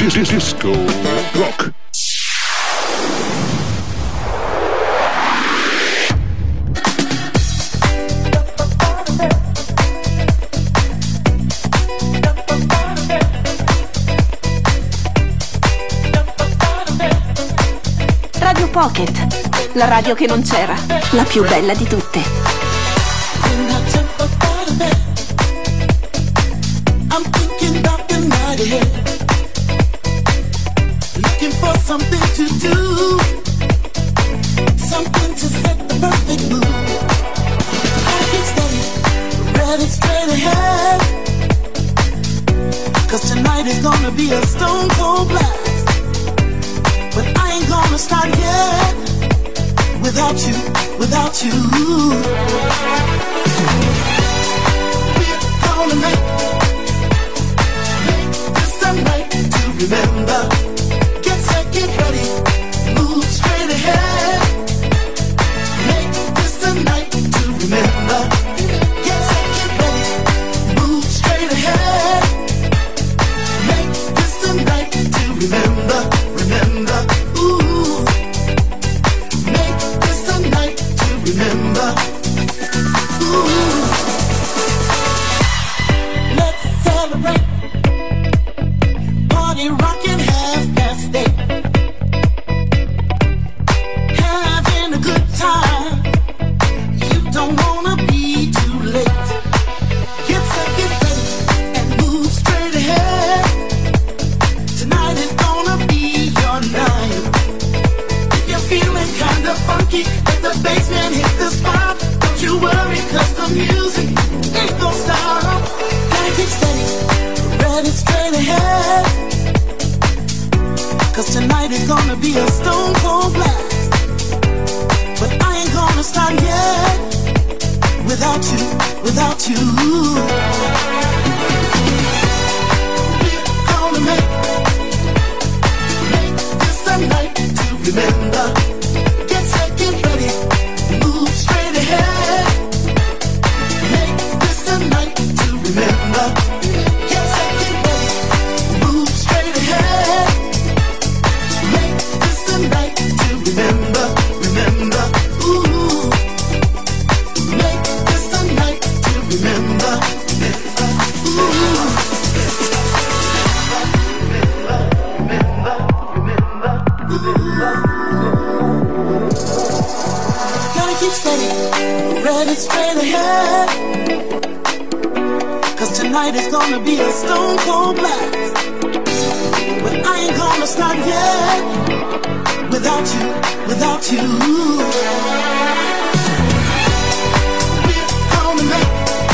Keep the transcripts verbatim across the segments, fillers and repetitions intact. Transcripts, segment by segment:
Disco Rock. Radio Pocket, la radio che non c'era, la più bella di tutte. Something to do, something to set the perfect mood. I get steady, ready straight ahead, 'cause tonight is gonna be a stone cold blast. But I ain't gonna start yet, without you, without you. We're gonna make, make this a night to remember. Get ready, move straight ahead. Make this a night to remember. Get set, get ready, move straight ahead. Make this a night to remember, remember. Ooh, make this a night to remember. Ooh, let's celebrate. Party rockin' half past eight. Let the bassman hit the spot. Don't you worry, 'cause the music ain't gon' stop. Gotta get steady, ready straight ahead, 'cause tonight is gonna be a stone cold blast. But I ain't gonna start yet, without you, without you. We're gonna make, make this a night to remember. Straight ahead, 'cause tonight is gonna be a stone cold blast. But I ain't gonna start yet, without you, without you. We're gonna make,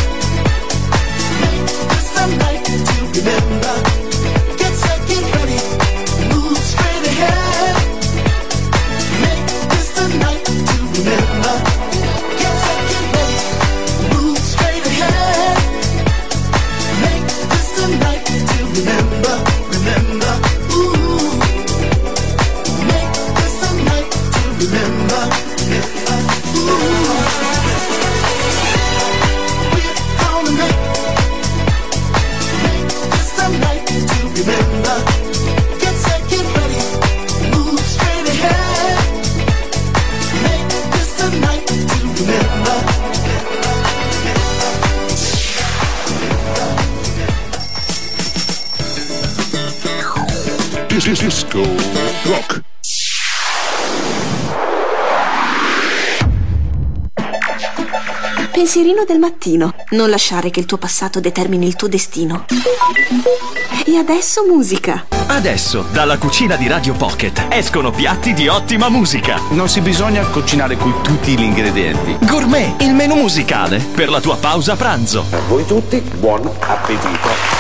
make this a night to remember. Get set, get ready, move straight ahead. Make this a night to remember. Remember, remember, ooh, make this a night to remember, ooh. We're gonna make, make this a night to remember. Get set, get ready, move straight ahead. Make this a night to remember. Disco Rock. Pensierino del mattino. Non lasciare che il tuo passato determini il tuo destino. E adesso musica. Adesso, dalla cucina di Radio Pocket, escono piatti di ottima musica. Non si bisogna cucinare con tutti gli ingredienti. Gourmet, il menù musicale per la tua pausa pranzo. A voi tutti, buon appetito.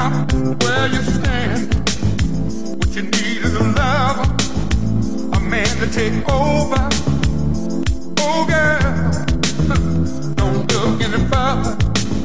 stop where you stand. What you need is a lover, a man to take over. Oh girl, don't look any further.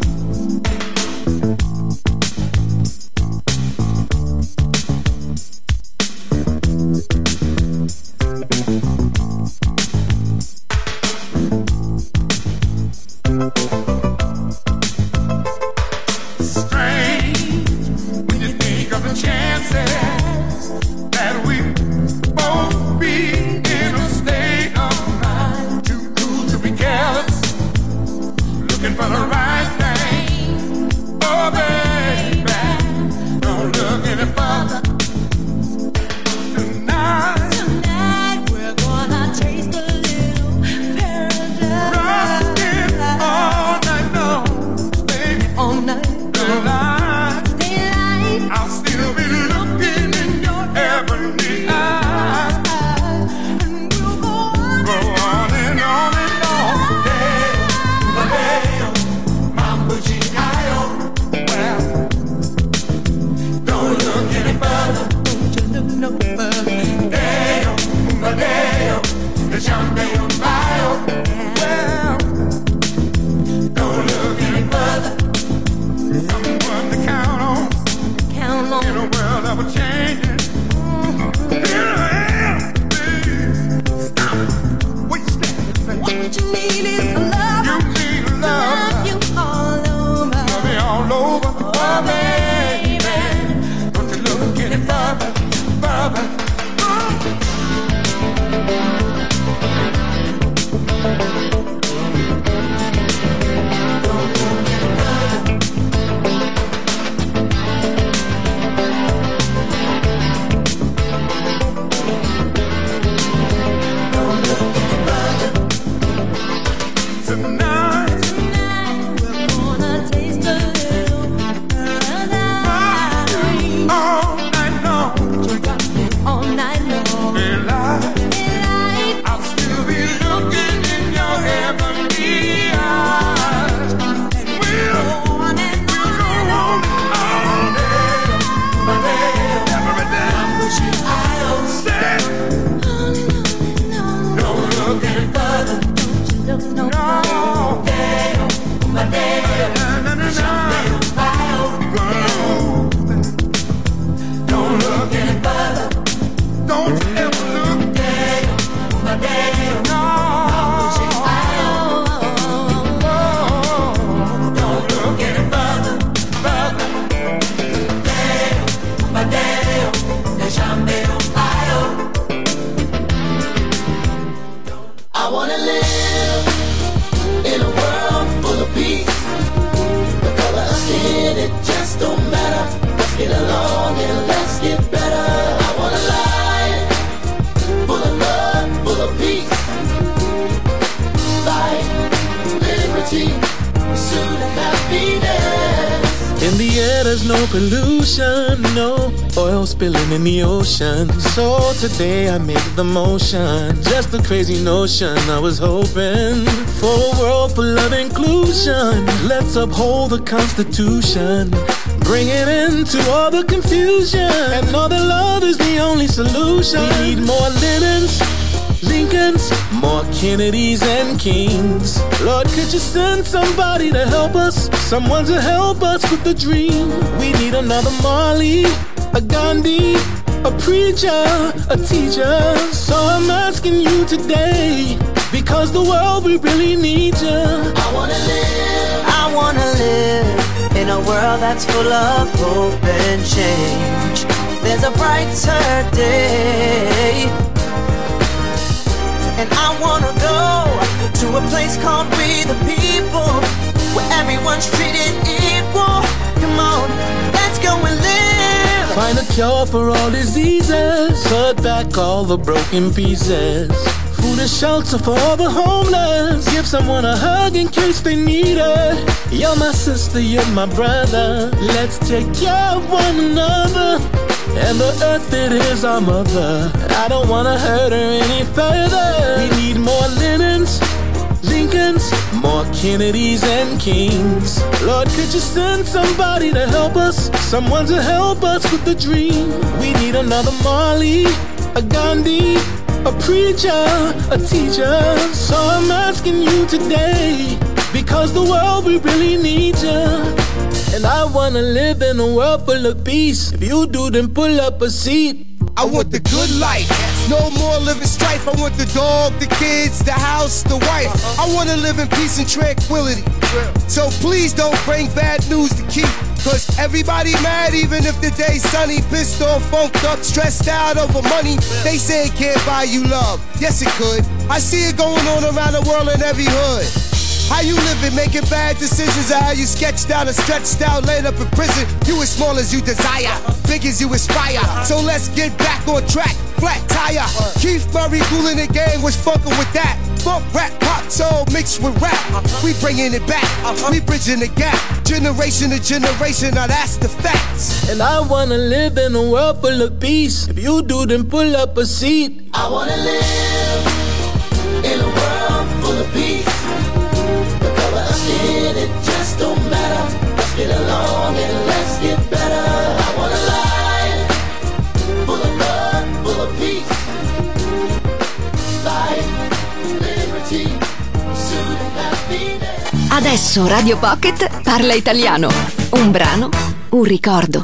In the ocean. So today I make the motion. Just a crazy notion. I was hoping for a world full of inclusion. Let's uphold the Constitution. Bring it into all the confusion. And know that love is the only solution. We need more Lennons, Lincolns, more Kennedys and Kings. Lord, could you send somebody to help us? Someone to help us with the dream. We need another Marley, a Gandhi, a preacher, a teacher. So I'm asking you today, because the world, we really need you. I wanna live, I wanna live in a world that's full of hope and change. There's a brighter day, and I wanna go to a place called We the People, where everyone's treated equal. Come on, let's go and live. Find a cure for all diseases. Put back all the broken pieces. Food and shelter for all the homeless. Give someone a hug in case they need it. You're my sister, you're my brother. Let's take care of one another. And the earth, it is our mother. I don't wanna hurt her any further. We need more Lennons, Lincolns, more Kennedys and Kings. Lord, could you send somebody to help us? Someone to help us with the dream. We need another Marley, a Gandhi, a preacher, a teacher. So I'm asking you today, because the world, we really need you. And I wanna live in a world full of peace. If you do, then pull up a seat. I want the good life, no more living strife. I want the dog, the kids, the house, the wife. I wanna live in peace and tranquility. So please don't bring bad news to keep, cause everybody mad even if the day's sunny. Pissed off, funked up, stressed out over money. They say it can't buy you love. Yes it could. I see it going on around the world in every hood. How you living, making bad decisions, or how you sketched out and stretched out, laid up in prison. You as small as you desire, big as you aspire. So let's get back on track, flat tire. Keith Murray, Kool in the Gang was fucking with that. Funk, rap, pop, soul mixed with rap. We bringing it back, we bridging the gap. Generation to generation, now that's the facts. And I wanna live in a world full of peace. If you do, then pull up a seat. I wanna live in a world full of peace. It just don't matter. Let's get along and let's get better. I want a life full of love, full of peace. Life, liberty, pursuit and happiness. Adesso Radio Pocket parla italiano. Un brano, un ricordo.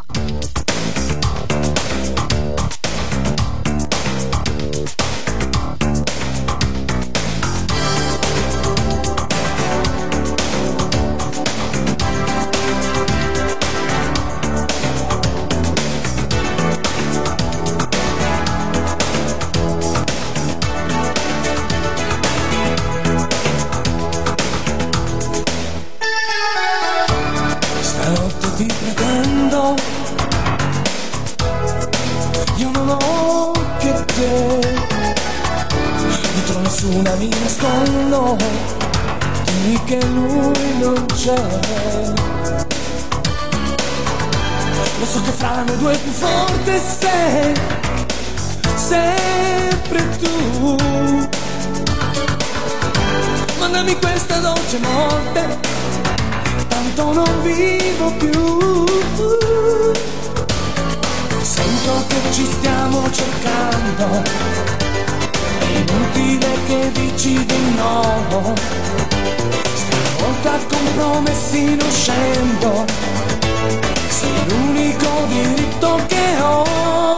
Mi nascondo, dimmi che lui non c'è. Lo so che fra noi due più forte sei, sempre tu. Mandami questa dolce morte, tanto non vivo più. Sento che ci stiamo cercando, è inutile che dici di no. Stavolta con promessi non scendo, sei l'unico diritto che ho.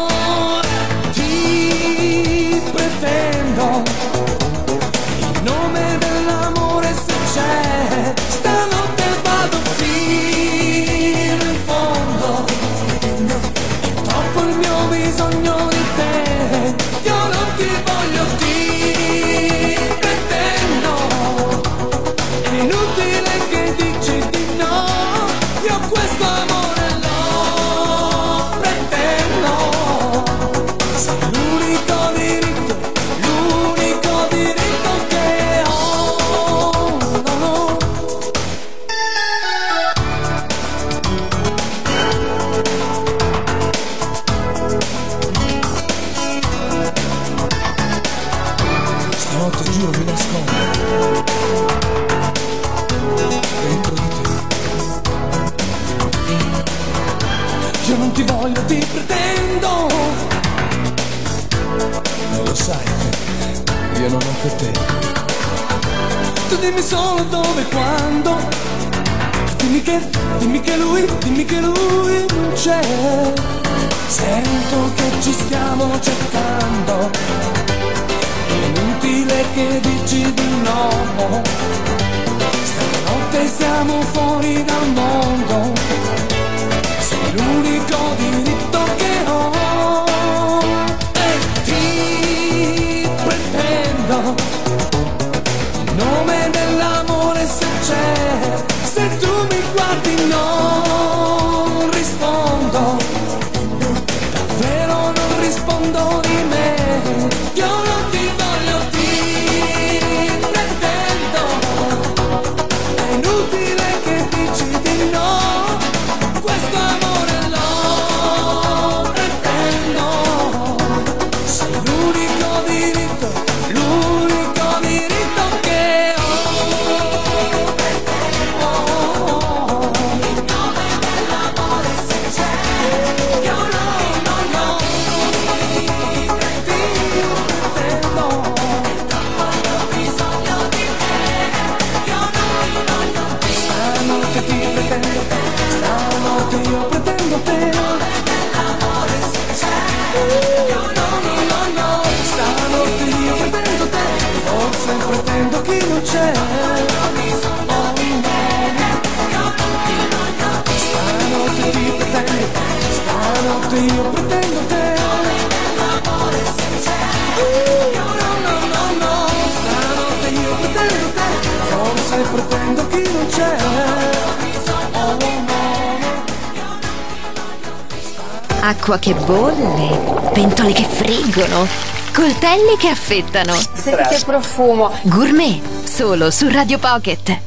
Ti pretendo, in nome dell'amore se c'è. Stanotte vado fino in fondo, è troppo il mio bisogno di te. Io non ti voglio, ti pretendo, è inutile che dici di no. Io questo amore lo pretendo, sei l'unico diritto, l'unico diritto che ho. No, no. Stanotte giuro mi nascondo dentro di te. Io non ti voglio, ti pretendo. Non lo sai, io non ho per te. Tu dimmi solo dove e quando. Dimmi che, dimmi che lui, dimmi che lui non c'è. Sento che ci stiamo cercando, è inutile che dici di no. Stanotte siamo fuori dal mondo, sei l'unico diritto che ho. E ti pretendo, in nome dell'amore se c'è. Se tu mi guardi non rispondo, davvero non rispondo di me. Io non ti voglio, ti pretendo, è inutile che dici di no. Questo amore lo Stanotte io pretendo te. Stanotte io pretendo te. Forse pretendo chi non c'è. Stanotte ti pretendo. Stanotte io pretendo te. Forse pretendo chi non c'è. Acqua che bolle, pentole che friggono, coltelli che affettano. Senti che profumo. Gourmet, solo su Radio Pocket.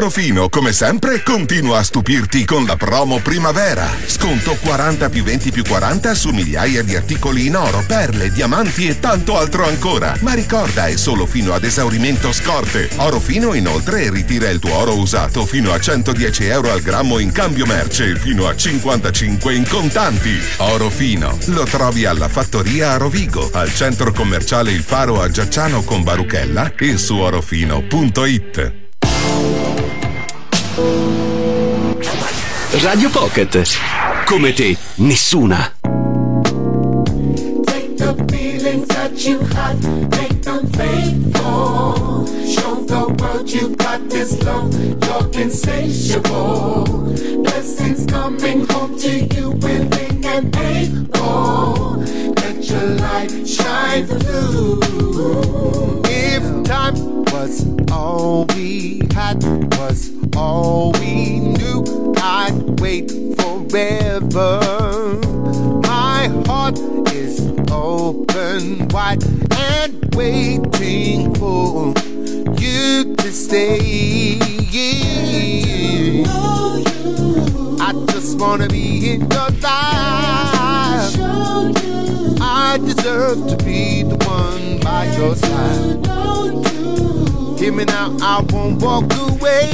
Orofino, come sempre, continua a stupirti con la promo primavera. Sconto quaranta più venti più quaranta su migliaia di articoli in oro, perle, diamanti e tanto altro ancora. Ma ricorda, è solo fino ad esaurimento scorte. Orofino inoltre ritira il tuo oro usato fino a centodieci euro al grammo in cambio merce, fino a cinquantacinque in contanti. Orofino lo trovi alla fattoria a Rovigo, al centro commerciale Il Faro a Giacciano con Baruchella e su orofino punto it. Radio Pocket. Come te, nessuna. Take the feelings that you have, make them faithful. Show the world you got this love, you're insatiable. Blessings coming home to you, willing and able. Let your light shine through. If time was all we had, was all we knew, I'd wait forever. My heart is open wide and waiting for you to stay. I just wanna be in your life. I deserve to be the one by your side. Hear me now, I won't walk away.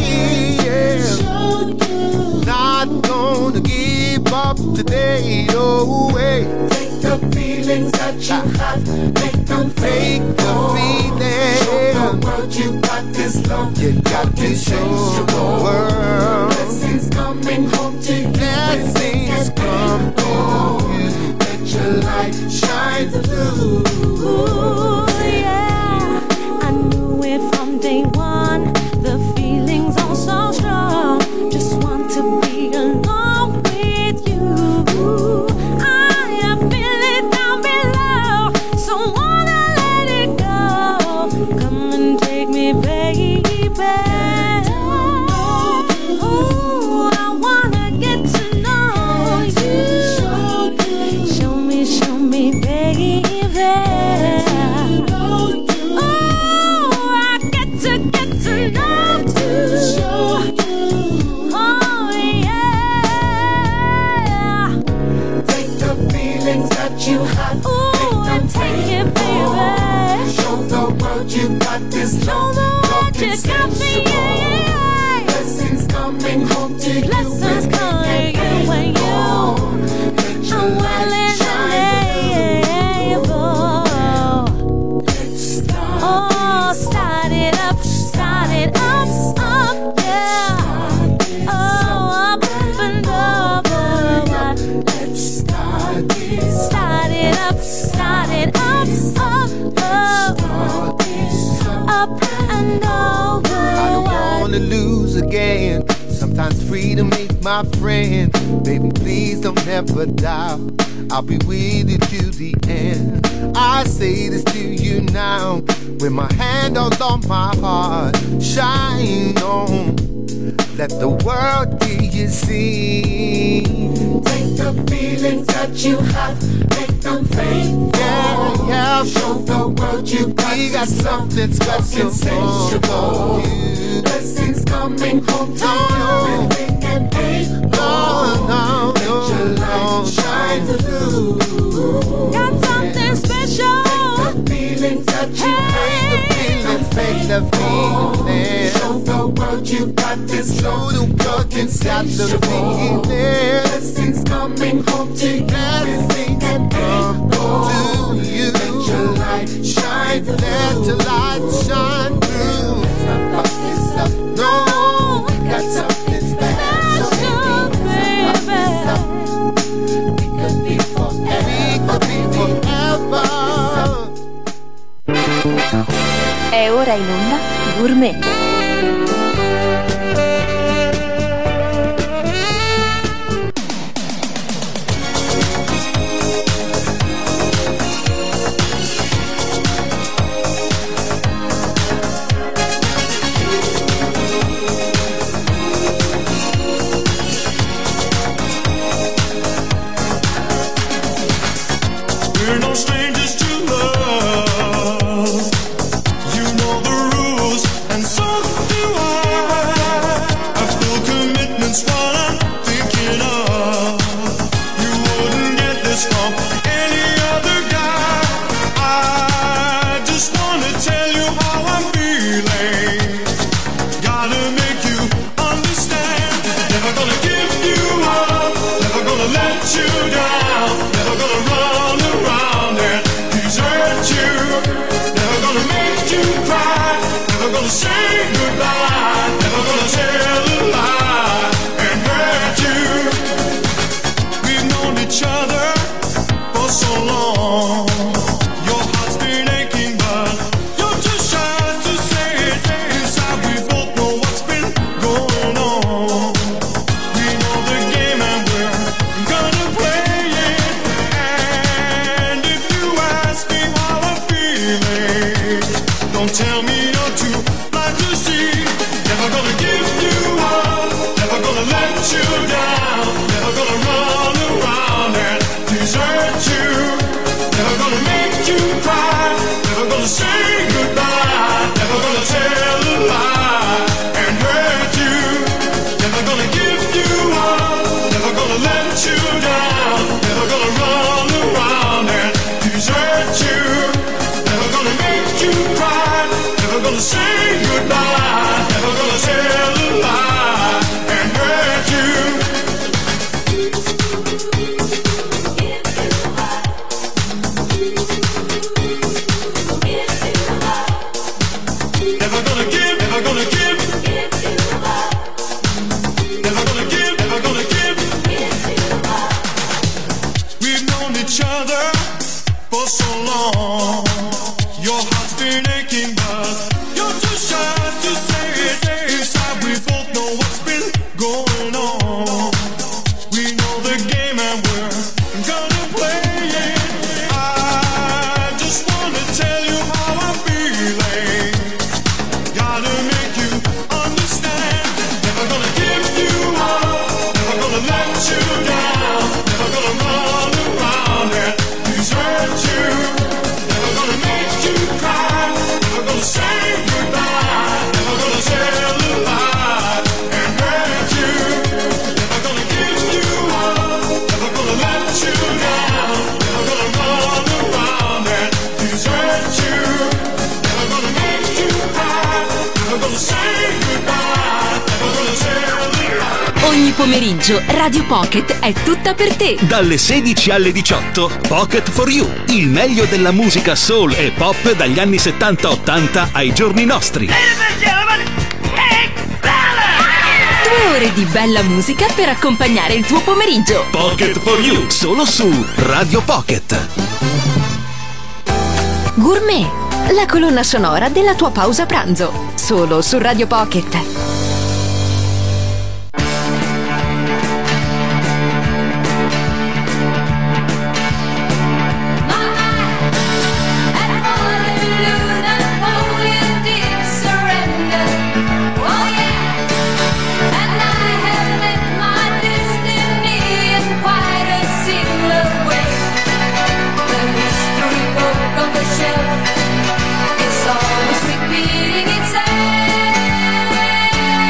Not gonna give up today, no way. Take the feelings that you have, make them Take the feelings. Show the world you got this love, you got to show the world. Blessings coming home to you. Blessings come to you. Let your light shine through. Ooh, yeah. I knew it from day one. The feelings are so strong. Just want to be alone with you. I am feeling down below, so wanna let it go. Come and take me, baby. Ooh, I wanna get to know you. Show me, show me, baby. Ooh, I get to get to know you. Oh yeah. Take the feelings that you have. Ooh, and take it, baby. Show the world you got this love. Show the world you got me, yeah. Blessings coming home to you. Blessings coming you when you. I'm willing and able. Oh, start it up, start it up, up, yeah. Oh, up and over. Let's start this. Start it up, start it up, up, up, up and over. I don't wanna lose again. Sometimes freedom ain't my friend. Baby, please don't ever doubt. I'll be with you to the end. I say this to you now, with my hand all on my heart. Shine on, let the world hear you sing. Take the feelings that you have, make them faithful. Yeah, yeah. Show the world you got, we got something special for you. Blessings coming home to no, you, willing and able. No, no, let no, your light no, shine no. through. Got something special. Take the feelings that you have, Make the feeling. show the world you got this love. Show the world you got the feeling. Blessings coming home to you, Blessings and come to you. let your light shine through. Let your light shine through. No, we got something special, baby. We could be forever. We could be forever. È ora in onda Gourmet. We're no strangers to love. You know the rules, and so gonna say goodbye, never gonna tell a lie and hurt you. We've known each other for so long. Your heart's been aching, but you're too shy to say it. Inside we both know what's been going on. We know the game and we're gonna play it. And if you ask me how I'm feeling, don't tell me you're too blind to see. Never gonna give you up, never gonna let you down, never gonna run around and desert you. Never gonna make you cry, never gonna say goodbye, never gonna tell a lie and hurt you. Never gonna give you up, never gonna let you down, never gonna run around and desert you. Never gonna make you cry, never gonna say goodbye, never gonna tell a lie and hurt you. Never gonna give, never gonna give, never gonna give, never gonna give. We've known each other for so long. Your heart's been aching, but you're too shy to say it. Inside we both know what's been going on. We know the game and we're gonna play it. I just wanna tell you how I'm feeling. Gotta make you understand. Never gonna give you up, never gonna let you down, never gonna run around and desert you. Never gonna make you cry, never gonna say goodbye, never gonna tell a lie and hurt you. Never gonna give you up, never gonna let you down, never gonna run around and desert you. Never gonna make you cry, never gonna say goodbye, never gonna tell a lie. Ogni pomeriggio Radio Pocket è tutta per te. Dalle sedici alle diciotto, Pocket for You, il meglio della musica soul e pop dagli anni settanta ottanta ai giorni nostri. Due ore di bella musica per accompagnare il tuo pomeriggio. Pocket for You, solo su Radio Pocket. Gourmet, la colonna sonora della tua pausa pranzo. Solo su Radio Pocket. It's always repeating itself.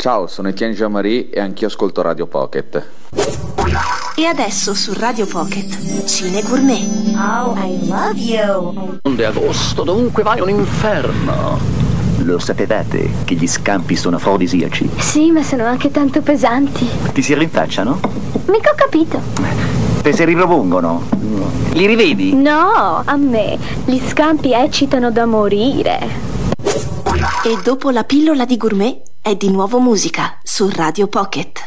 Ciao, sono Etienne Jean-Marie e anch'io ascolto Radio Pocket. E adesso su Radio Pocket, Cine Gourmet. Oh, I love you. Onde agosto, dovunque vai un inferno. Lo sapevate che gli scampi sono afrodisiaci? Sì, ma sono anche tanto pesanti. Ti si rinfacciano? Mica ho capito. Te si ripropongono? Li rivedi? No, a me gli scampi eccitano da morire. E dopo la pillola di gourmet è di nuovo musica su Radio Pocket.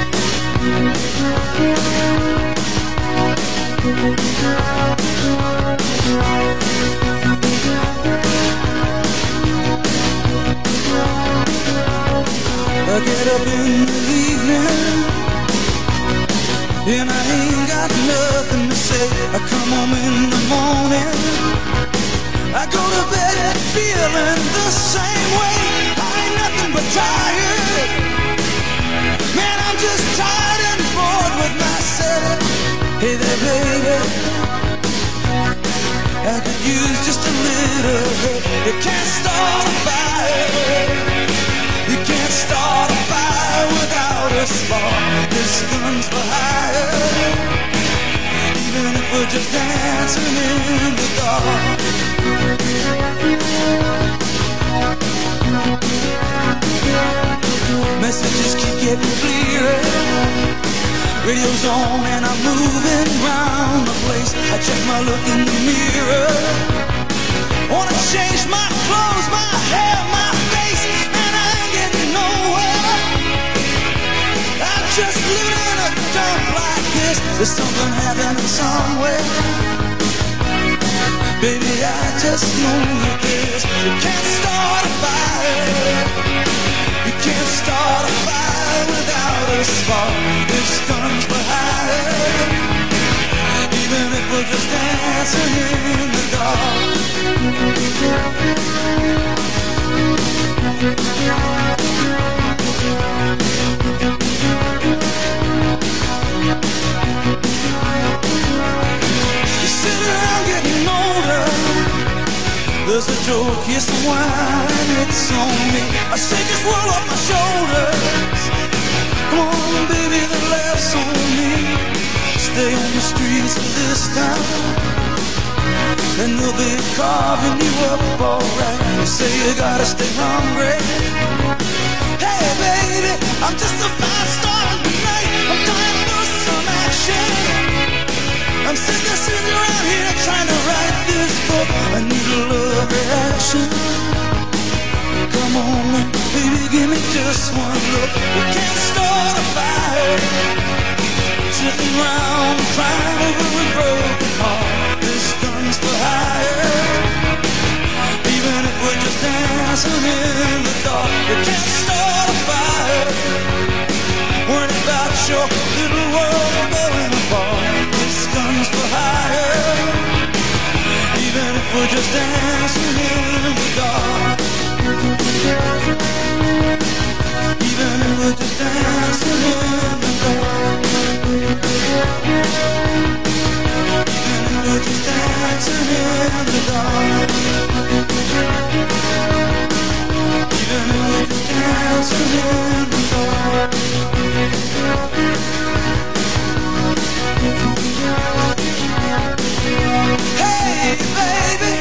I get up in the evening and I ain't got nothing to say. I come home in the morning, I go to bed feeling the same way. I ain't nothing but tired, man, I'm just tired and bored with myself. Hey there baby, I could use just a little help. You can't start a fire, you can't start a fire without a spark. This gun's for hire, even if we're just dancing in the dark. Messages keep getting clearer, radio's on and I'm moving round the place. I check my look in the mirror, wanna change my clothes, my hair, my face, and I ain't getting nowhere. I'm just living in a dump like this. There's something happening somewhere. Baby, I just know that this. You can't start a fire, you can't start a fire without a spark. This gun's for hire, even if we're just dancing in the dark. You sit around getting older, there's a joke, here's some wine, it's on me. I shake this world off my shoulders. Come on, baby, the laughs on me. Stay on the streets of this town, and they'll be carving you up alright. You say you gotta stay hungry. Hey, baby, I'm just a fast star tonight. I'm dying for some action. I'm sitting, sitting around here trying to write this book. I need a love reaction. Come on, baby, give me just one look. We can't start a fire, sitting around crying over a broken heart. This gun's for hire, even if we're just dancing in the dark. We can't start a fire, worrying about your little world falling apart. This gun's for hire, even if we're just dancing in the dark. Even if we're just dancing in the dark. Even if we're just dancing in the dark. Even if we're just dancing in the dark. Hey, baby.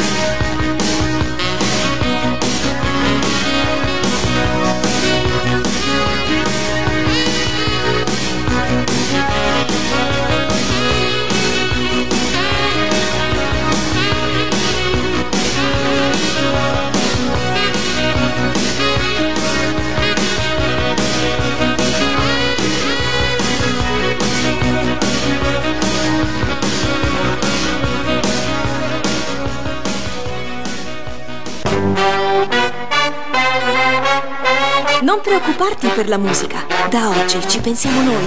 Non preoccuparti per la musica, da oggi ci pensiamo noi.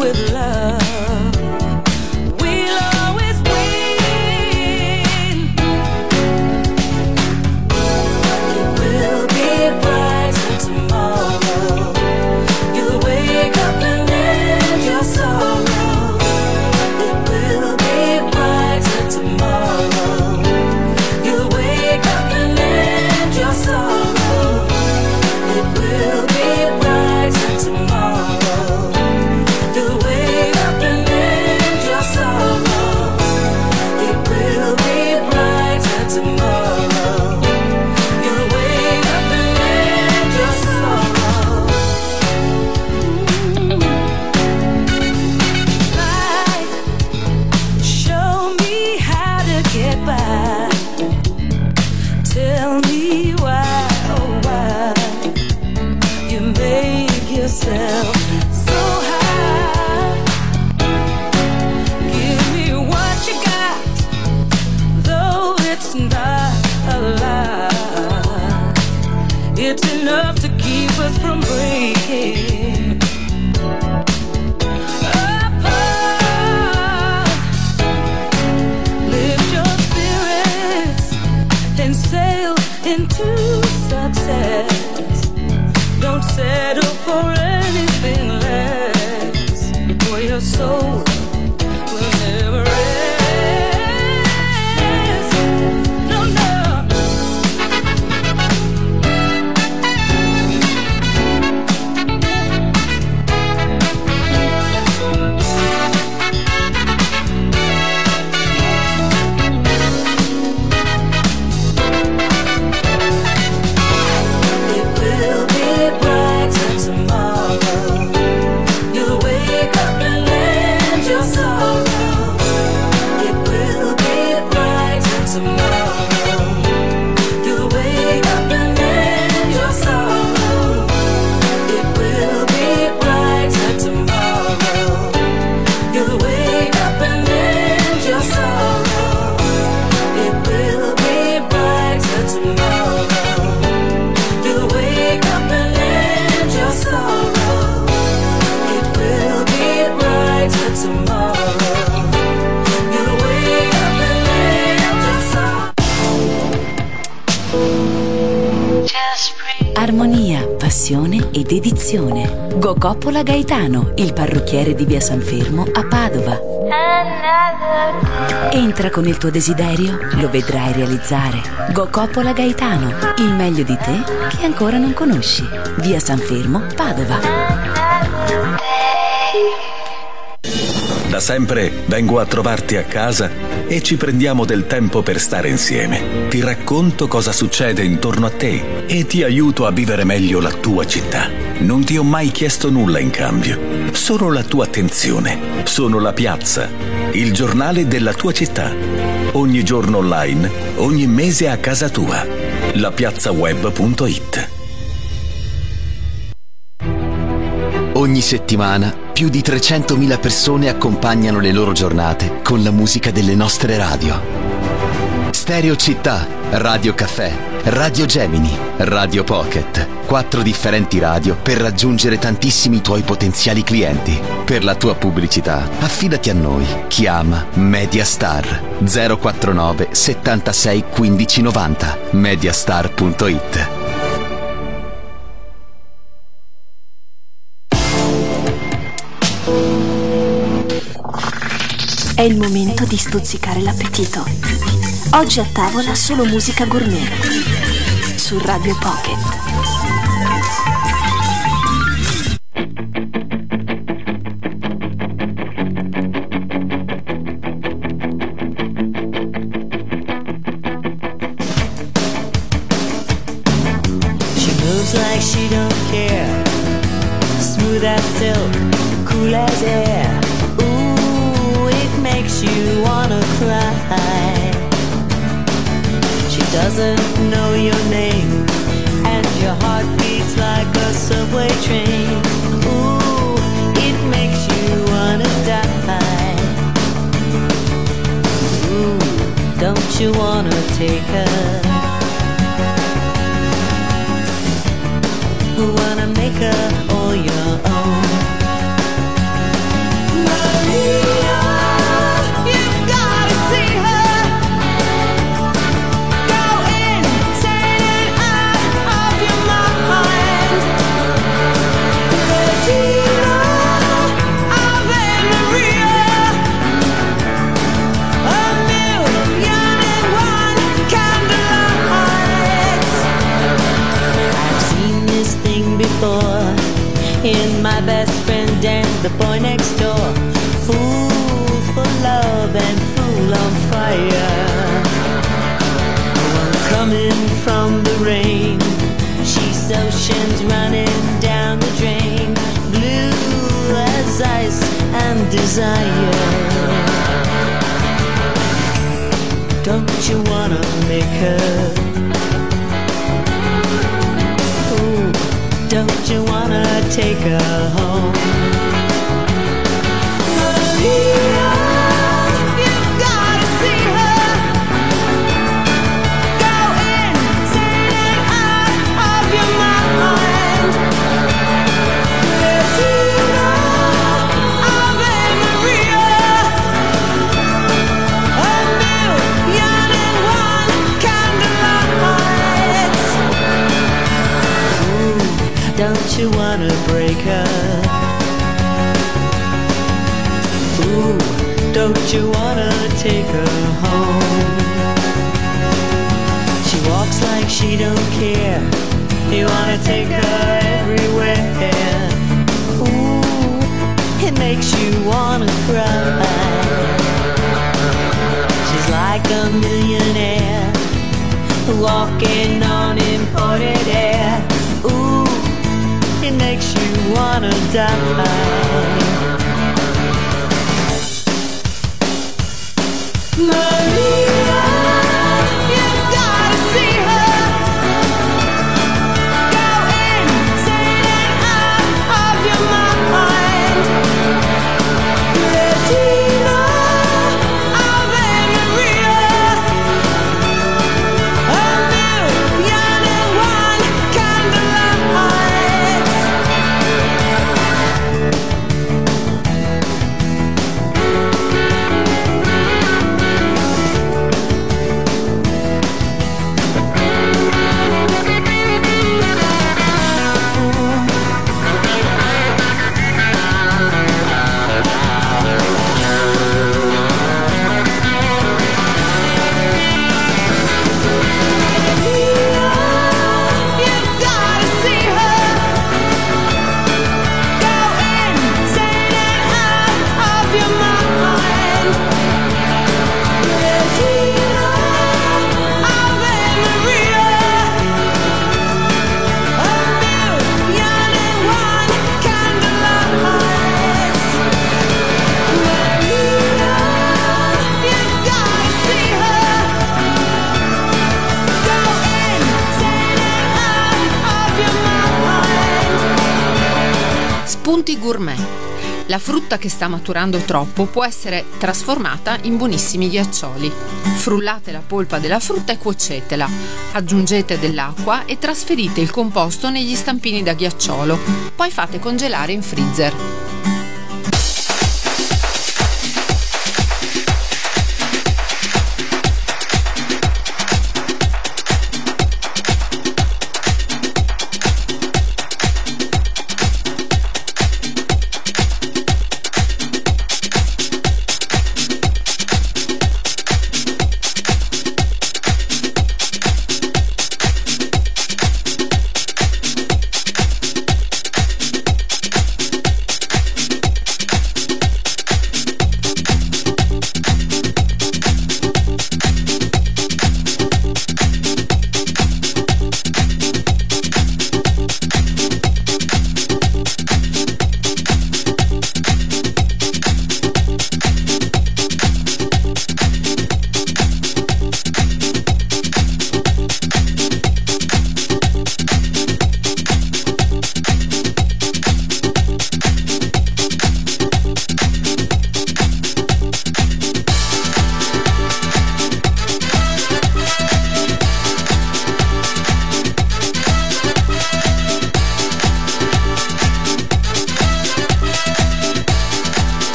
with love. We'll always win. It will be brighter tomorrow. You'll wake up and end your sorrow. It will be brighter tomorrow. You'll wake up and end your sorrow. It will be brighter tomorrow. You'll wake up and end your sorrow. It will be brighter tomorrow. You'll wake up and end your sorrow. Light, show me how to get by. Tell me why, oh why you make yourself so high. Give me what you got, though it's not a lie. It's enough to keep us from breaking apart. Lift your spirits and sail into success. Don't settle for anything less, for your soul will never rest. No, no. It will be brighter tomorrow. You'll wake up and end your sorrow. It will be brighter tomorrow. You'll wake up and end your sorrow. It will be brighter tomorrow. You'll wake up and end your sorrow. It will be brighter tomorrow. You'll wake up and end your sorrow. It will be brighter tomorrow. You'll wake up and end your sorrow. Armonia, passione e dedizione. Go Coppola Gaetano, il parrucchiere di via San Fermo a Padova. Entra con il tuo desiderio, lo vedrai realizzare. Go Coppola Gaetano, il meglio di te che ancora non conosci. Via San Fermo, Padova. Da sempre vengo a trovarti a casa e ci prendiamo del tempo per stare insieme. Ti racconto cosa succede intorno a te e ti aiuto a vivere meglio la tua città. Non ti ho mai chiesto nulla in cambio, solo la tua attenzione. Sono La Piazza, il giornale della tua città. Ogni giorno online, ogni mese a casa tua. la piazza web punto it. Ogni settimana più di trecentomila persone accompagnano le loro giornate con la musica delle nostre radio. Stereo Città, Radio Caffè, Radio Gemini, Radio Pocket. Quattro differenti radio per raggiungere tantissimi tuoi potenziali clienti. Per la tua pubblicità, affidati a noi. Chiama Mediastar zero quattro nove settantasei quindici novanta. mediastar punto it. È il momento di stuzzicare l'appetito. Oggi a tavola solo musica gourmet su Radio Pocket. She moves like she don't care, smooth as silk, cool as air. Ooh, it makes you wanna cry. She doesn't know your name, and your heart beats like a subway train. Ooh, it makes you wanna die. Ooh, don't you wanna take her? Wanna make her all your own. friend and the boy next door. Fool for love and fool on fire. One coming from the rain, she's oceans running down the drain. Blue as ice and desire. Don't you wanna make her? Ooh, don't you wanna take her home? Maria, you've gotta see her. Go insane and out of your mind. Bettina, Ave Maria. Don't you wanna break her? Ooh, don't you wanna take her home? She walks like she don't care. You wanna take her everywhere. Ooh, it makes you wanna cry. She's like a millionaire walking on imported air. Ooh, it makes you wanna die. Maria, you've gotta see her. Go insane and out of your mind. Bettina, Ave Maria. A million and one candlelight. Spunti gourmet. La frutta che sta maturando troppo può essere trasformata in buonissimi ghiaccioli. Frullate la polpa della frutta e cuocetela. Aggiungete dell'acqua e trasferite il composto negli stampini da ghiacciolo. Poi fate congelare in freezer.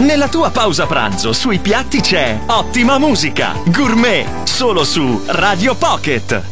Nella tua pausa pranzo sui piatti c'è ottima musica, gourmet, solo su Radio Pocket.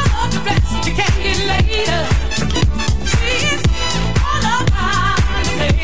Later. See, it's all about the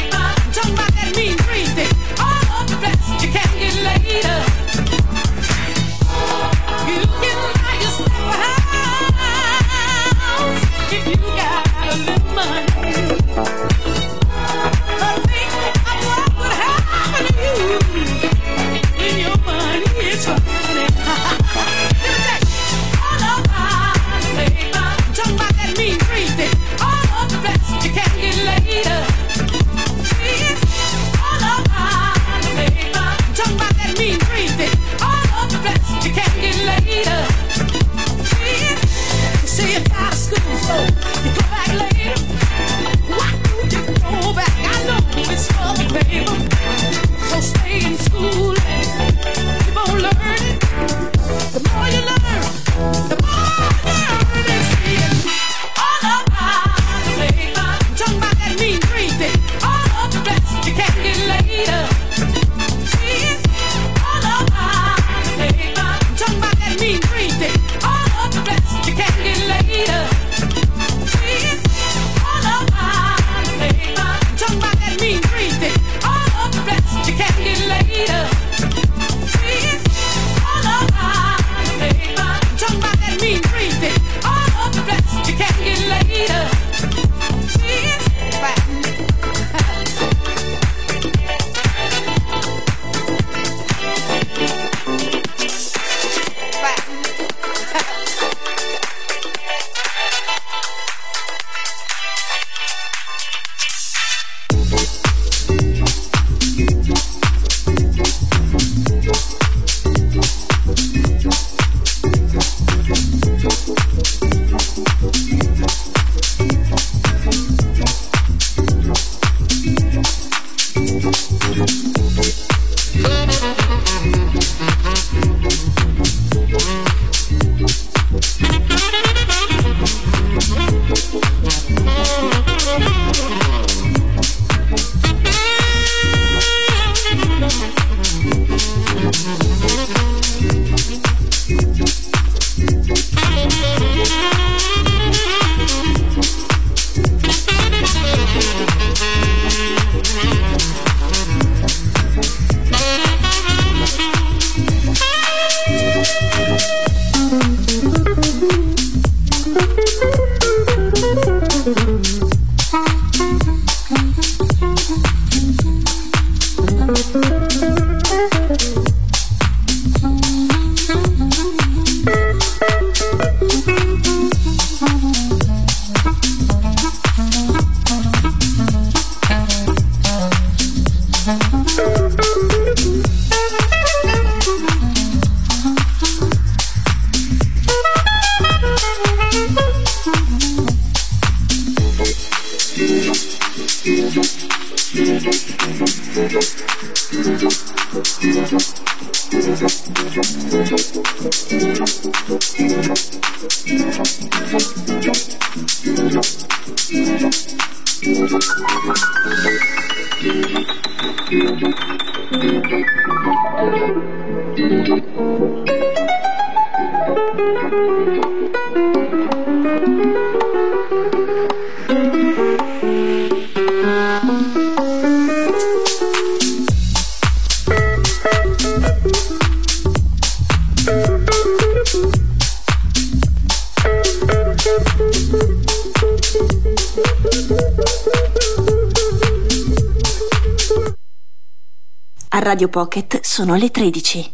A Radio Pocket sono le tredici.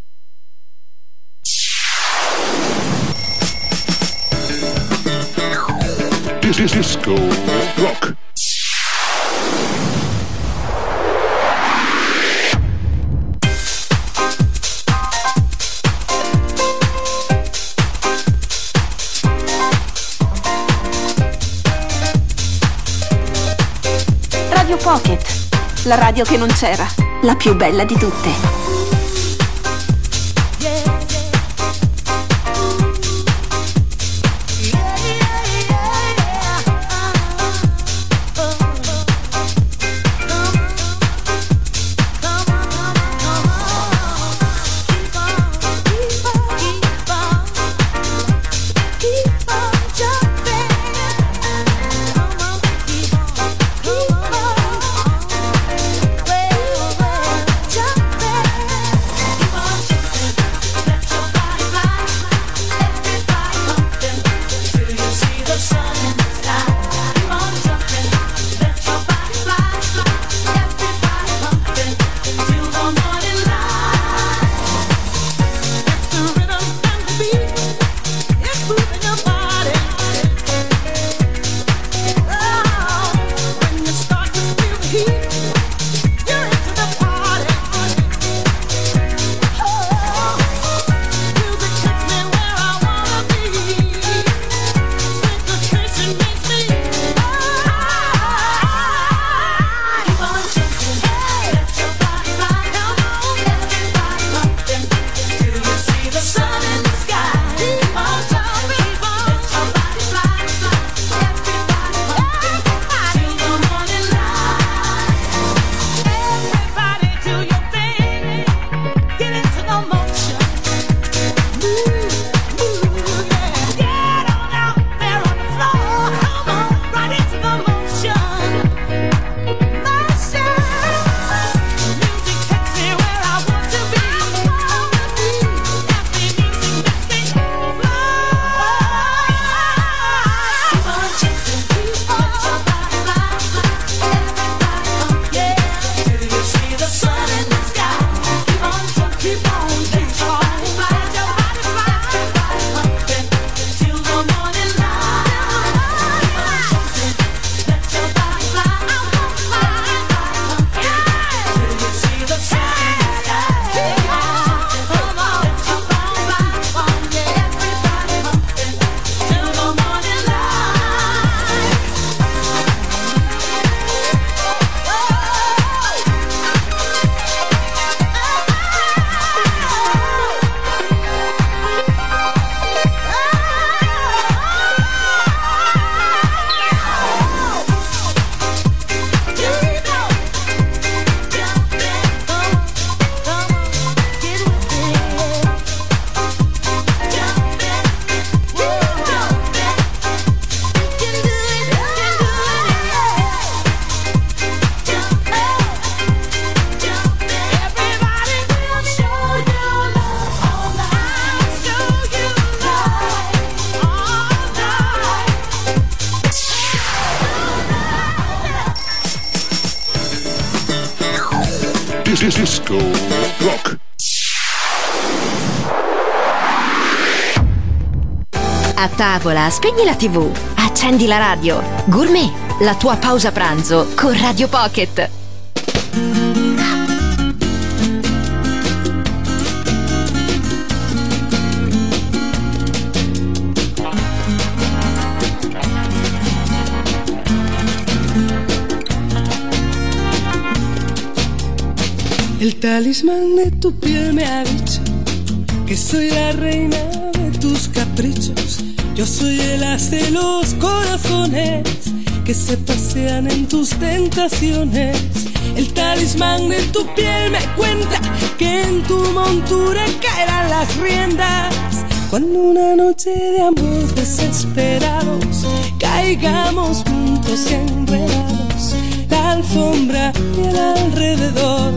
Disco Rock. Radio Pocket, la radio che non c'era, la più bella di tutte. Disco Rock. A tavola, spegni la tivù, accendi la radio. Gourmet, la tua pausa pranzo con Radio Pocket. El talismán de tu piel me ha dicho que soy la reina de tus caprichos. Yo soy el as de los corazones que se pasean en tus tentaciones. El talismán de tu piel me cuenta que en tu montura caerán las riendas. Cuando una noche de amor desesperados caigamos juntos y enredados, la alfombra y el alrededor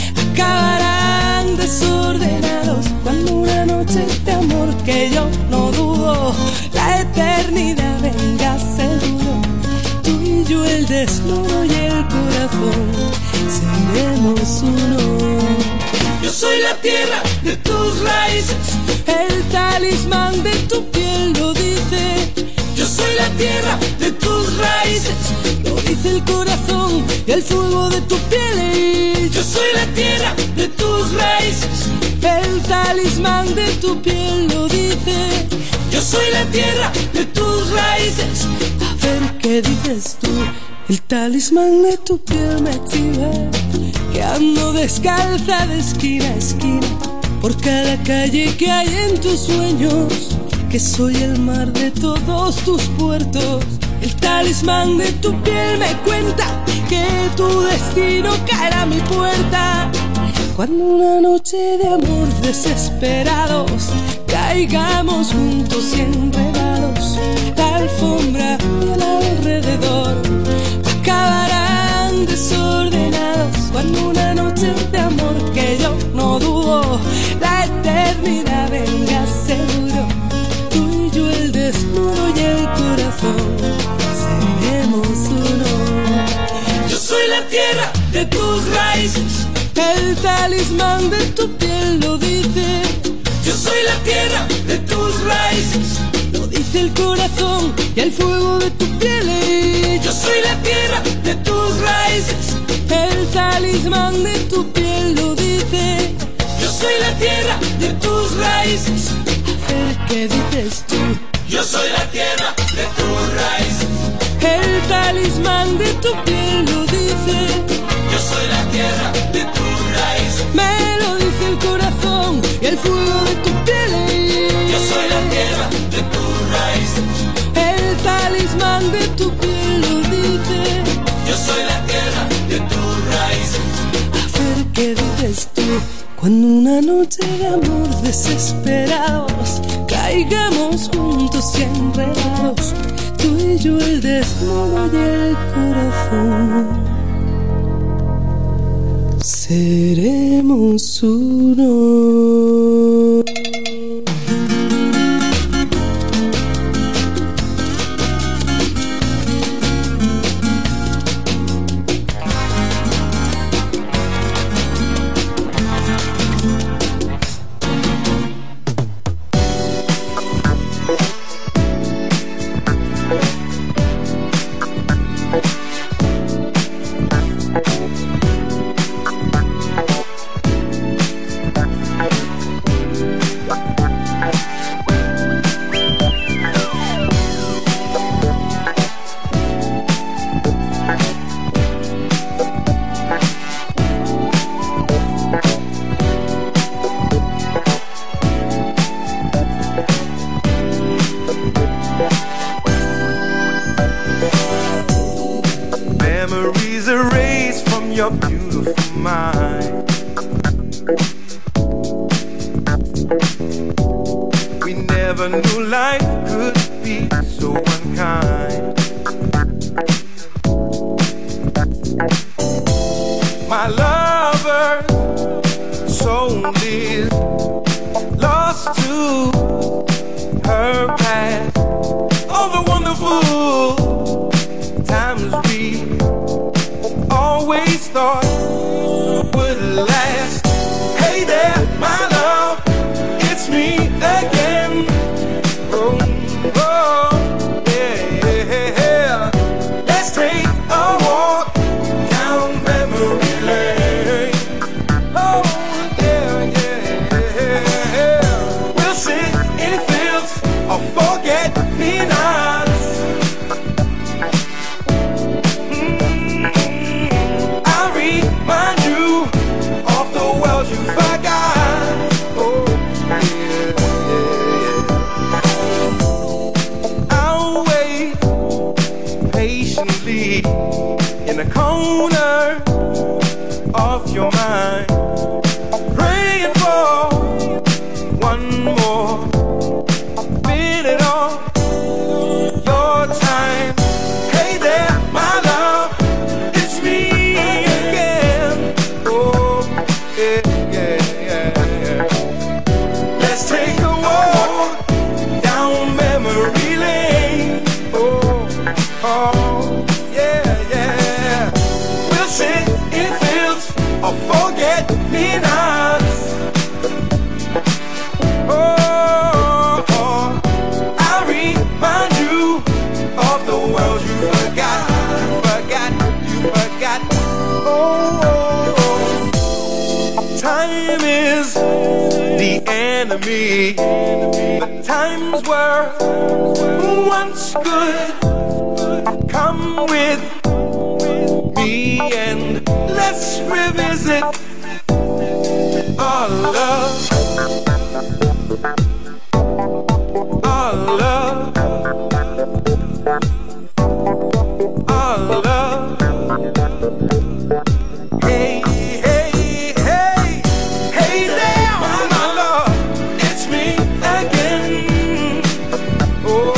acabarán desordenados. Cuando una noche de amor que yo no dudo, la eternidad venga seguro, tú y yo el desnudo y el corazón seremos uno. Yo soy la tierra de tus raíces, el talismán de tu piel lo dice. Yo soy la tierra de tus raíces, lo dice el corazón y el fuego de tu piel. Yo soy la tierra de tus raíces, el talismán de tu piel lo dice. Yo soy la tierra de tus raíces. A ver qué dices tú. El talismán de tu piel me exhibe que ando descalza de esquina a esquina por cada calle que hay en tus sueños, que soy el mar de todos tus puertos. El talismán de tu piel me cuenta que tu destino caerá a mi puerta. Cuando una noche de amor desesperados caigamos juntos y enredados, la alfombra y el alrededor acabarán desordenados. Cuando una noche de amor que yo no dudo, la eternidad venga seguro, tú y yo el desnudo y el corazón seremos uno. Yo soy la tierra de tus raíces, el talismán de tu piel lo dice. Yo soy la tierra de tus raíces, lo dice el corazón y el fuego de tu piel. Yo soy la tierra de tus raíces, el talismán de tu piel lo dice. Yo soy la tierra de tus raíces. A ver qué dices tú. Yo soy la tierra de tus raíces, el talismán de tu piel lo dice. Yo soy la tierra de tus raíces, me lo dice el corazón y el fuego de tu piel. Yo soy la tierra de tus raíces, el talismán de tu piel lo dice. Yo soy la tierra de tus raíces. A ver qué dices tú. Cuando una noche de amor desesperados caigamos juntos y enredados, tú y yo el desnudo y el corazón seremos uno. Of in a corner of your mind, praying for one more minute of your time. Hey there, my love, it's me again. Oh, yeah, yeah, yeah, yeah. Let's take a walk down memory lane. Oh, oh, yeah, yeah. We'll sit in fields of forget-me-nots. Oh, oh, I'll remind you of the world you forgot, forgot, you forgot. Oh, oh, oh. Time is the enemy. The times were once good. Come with me and let's revisit our love, our love, our love. Hey, hey, hey, hey there, my love, it's me again. Oh,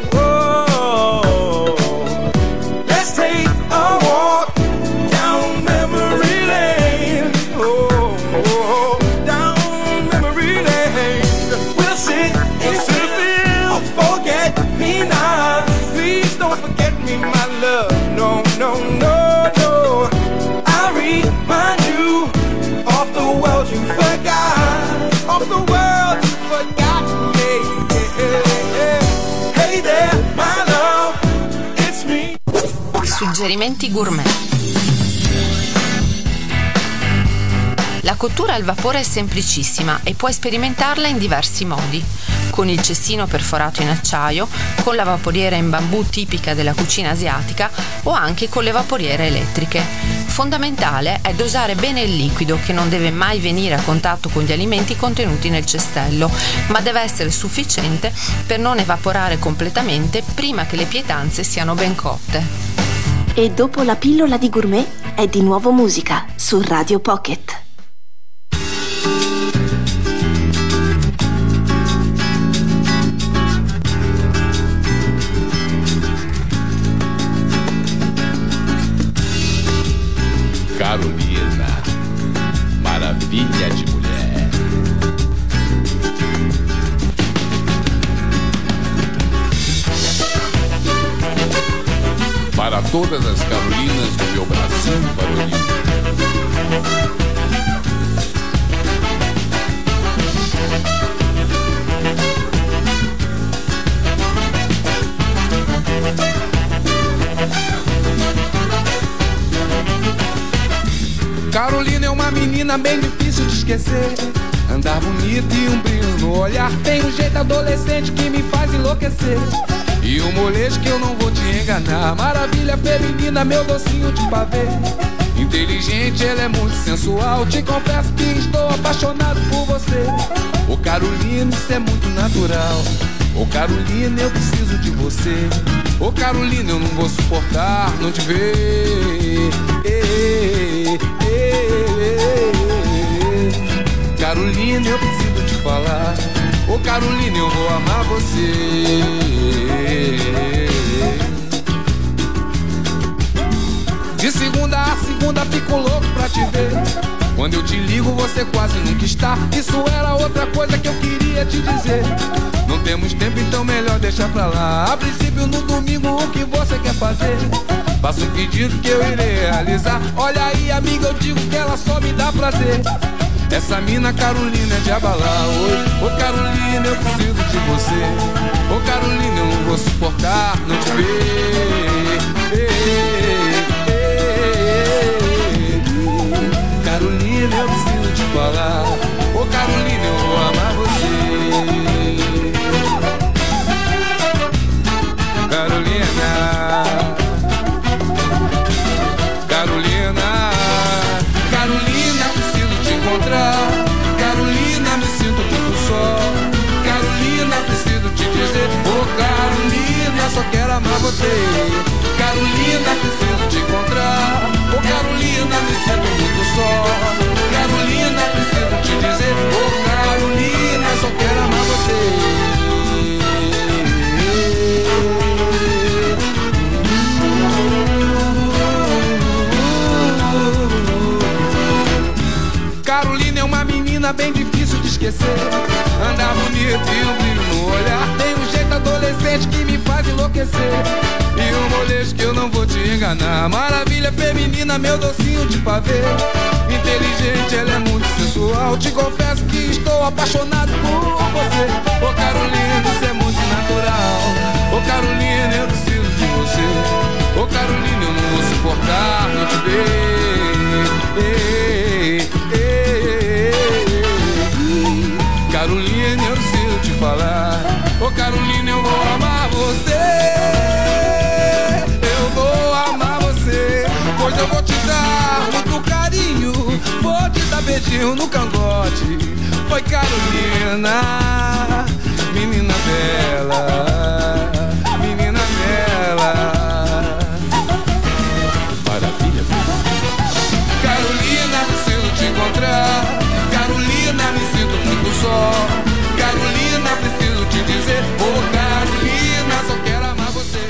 oh, let's take a walk down memory lane. Oh, oh, down memory lane. We'll sit in field of forget-me-not. Please don't forget me, my love. No, no, no, no. I'll remind you of the world you forgot, of the world you forgot. Yeah, yeah, yeah. Hey there, my love, it's me. Suggerimenti gourmet. La cottura al vapore è semplicissima e puoi sperimentarla in diversi modi: con il cestino perforato in acciaio, con la vaporiera in bambù tipica della cucina asiatica o anche con le vaporiere elettriche. Fondamentale è dosare bene il liquido, che non deve mai venire a contatto con gli alimenti contenuti nel cestello, ma deve essere sufficiente per non evaporare completamente prima che le pietanze siano ben cotte. E dopo la pillola di gourmet è di nuovo musica su Radio Pocket. Carolina, maravilha de mulher. Para todas as Carolinas do meu Brasil varonil. Carolina é uma menina bem difícil de esquecer. Andar bonita e um brilho no olhar. Tem um jeito adolescente que me faz enlouquecer. E um molejo que eu não vou te enganar. Maravilha feminina, meu docinho de pavê. Inteligente, ela é muito sensual. Te confesso que estou apaixonado por você. Ô Carolina, isso é muito natural. Ô Carolina, eu preciso de você. Ô Carolina, eu não vou suportar não te ver. Ei, ei, ei, ei. Carolina, eu preciso te falar. Ô Carolina, eu vou amar você. De segunda a segunda fico louco pra te ver. Quando eu te ligo você quase nunca está. Isso era outra coisa que eu queria te dizer. Não temos tempo, então melhor deixar pra lá. A princípio no domingo o que você quer fazer? Faça um pedido que eu irei realizar. Olha aí amiga, eu digo que ela só me dá prazer. Essa mina Carolina é de abalar. Oi, ô Carolina, eu preciso de você. Ô Carolina, eu não vou suportar não te ver. Ei, ei, ei. Carolina, eu preciso te falar. Ô Carolina, eu vou amar você. Carolina, Carolina, Carolina, preciso te encontrar. Carolina, me sinto muito só. Carolina, preciso te dizer. Ô Carolina, só quero amar você. Carolina, preciso menina bem difícil de esquecer. Andar bonito e um brilho no olhar. Tem um jeito adolescente que me faz enlouquecer. E um molejo que eu não vou te enganar. Maravilha feminina, meu docinho de pavê. Inteligente, ela é muito sensual. Te confesso que estou apaixonado por você. Ô Carolina, isso é muito natural. Ô Carolina, eu preciso de você. Ô Carolina, eu não vou suportar não te ver. Ei, ei, ei, ei. Carolina, eu preciso te falar. Ô Carolina, eu vou amar você. Eu vou amar você. Pois eu vou te dar muito carinho. Vou te dar beijinho no cangote. Oi Carolina, menina bela, menina bela. Maravilha. Carolina, preciso te encontrar. Carolina, me sinto muito só. Carolina, preciso te dizer. Oh Carolina, só quero amar você.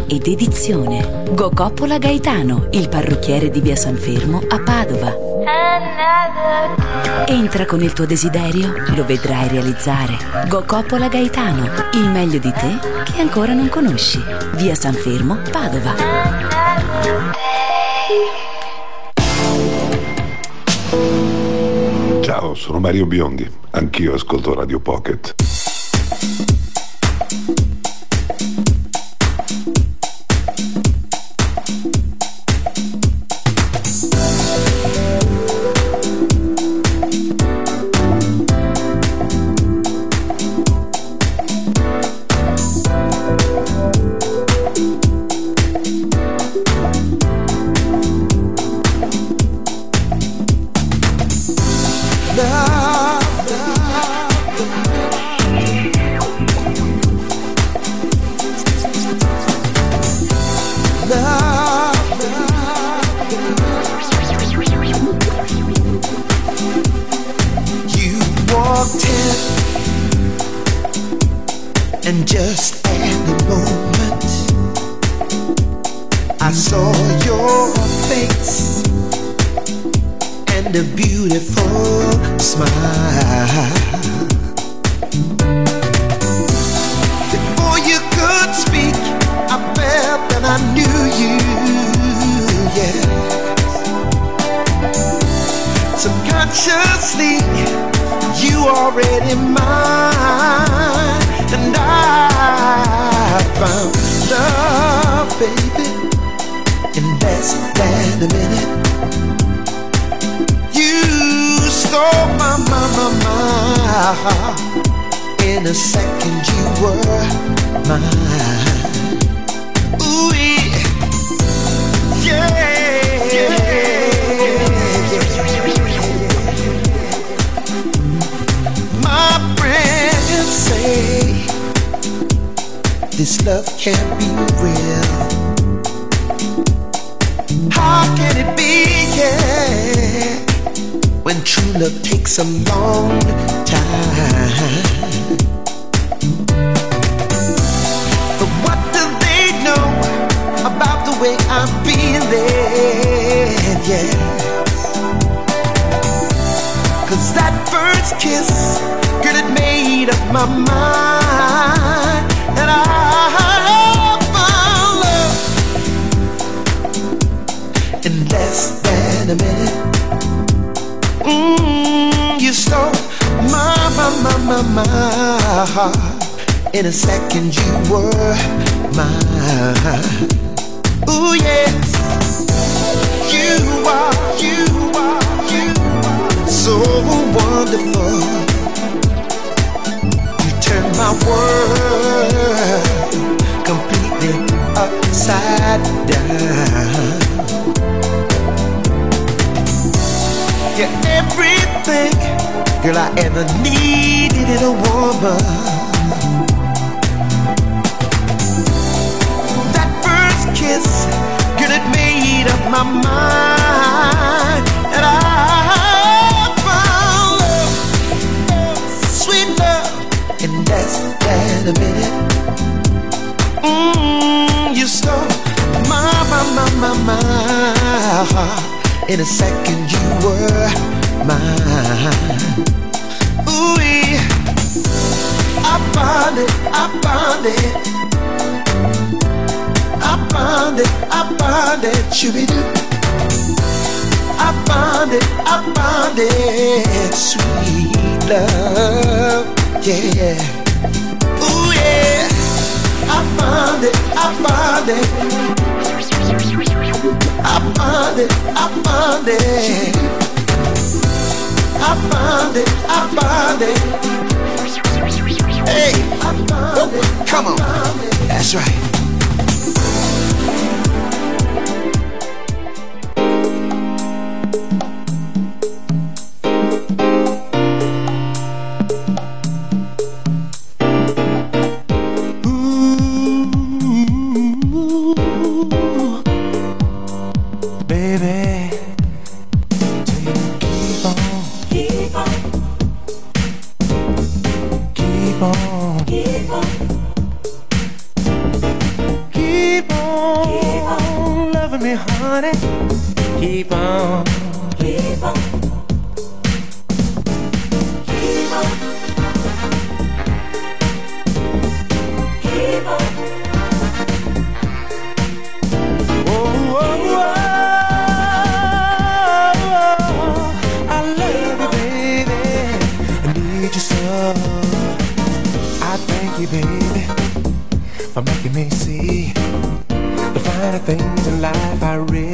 ed edizione. Gocoppola Gaetano, il parrucchiere di via San Fermo a Padova. Entra con il tuo desiderio, lo vedrai realizzare. Gocoppola Gaetano, il meglio di te che ancora non conosci. Via San Fermo, Padova. Ciao, sono Mario Biondi, anch'io ascolto Radio Pocket. And just at the moment I saw your face and a beautiful smile. Before you could speak, I felt that I knew you, yeah. Subconsciously, you already mine. And I found love, baby, in less than a minute. You stole my, my, my, my heart. In a second you were mine. Ooh, yeah, yeah, yeah. My friends say this love can't be real. How can it be, yeah, when true love takes a long time? But what do they know about the way I'm feeling, yeah? Cause that first kiss, girl, it made up my mind. And I found love in less than a minute. Mm, you stole my, my, my, my, my heart. In a second you were mine. Ooh, yes. You are, you are, you are so wonderful. My world completely upside down. You're everything, girl, I ever needed in a woman. That first kiss, girl, it made up my mind. And I found love, sweet love, in less than a minute. Mm, you stole my, my, my, my, my heart. In a second you were mine. Ooh, I found it, I found it. I found it, I found it, shooby-doo. I found it, I found it, sweet love. Yeah, ooh yeah, I found it, I found it, I found it, I found it, I found it, I found it. Hey, I found it, come on, that's right.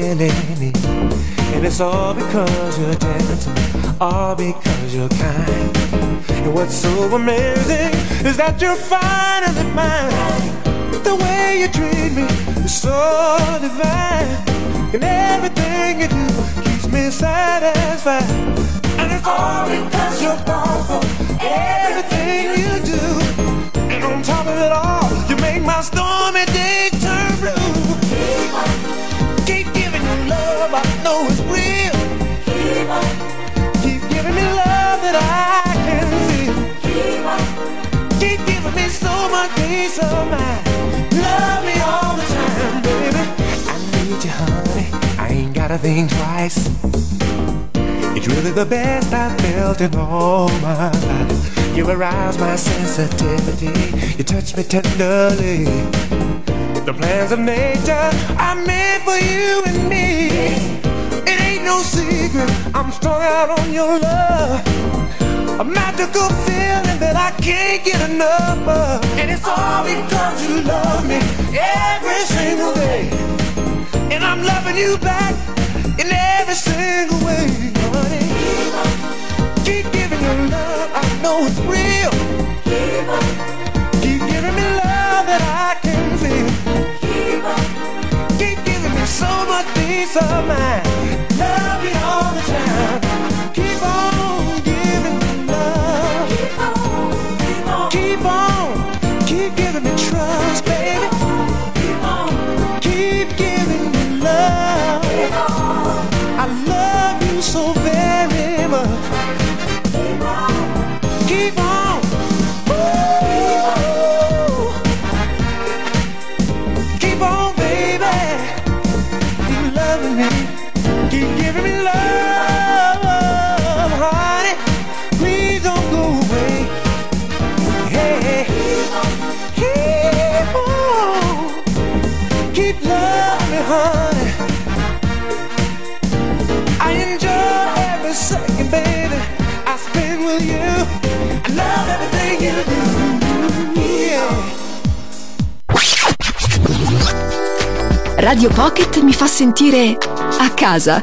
really need. And it's all because you're gentle, all because you're kind. And what's so amazing is that you're finally mine. The way you treat me is so divine. And everything you do keeps me satisfied. And it's all because you're powerful, everything you do. And on top of it all, you make my stormy days turn blue. Keep on, keep giving you love, I know it's real. Keep on, keep giving me love that I can feel. Keep on, keep giving me so much peace of mind. Love me all the time, baby. I need you, honey, I ain't gotta think twice. It's really the best I've felt in all my life. You arouse my sensitivity, you touch me tenderly. The plans of nature are made for you and me. It ain't no secret, I'm strung out on your love. A magical feeling that I can't get enough of. And it's all because you love me every single day. And I'm loving you back in every single way, honey. Keep giving you love, I know it's real. Keep giving me love that I can feel. Keep giving me so much peace of mind. Love you all the time. Keep on giving me love. Keep on, keep on, keep on. Keep giving me trust, baby. Keep on, keep giving me love. Keep on. I love you so very much. Keep on, keep on. Ooh. Keep on, baby. Keep loving me. Keep giving me love, honey. Please don't go away. Hey, keep on. Keep loving me, honey. I enjoy every second, baby, I spend with you. I love everything you do. Yeah. Radio Pocket mi fa sentire a casa.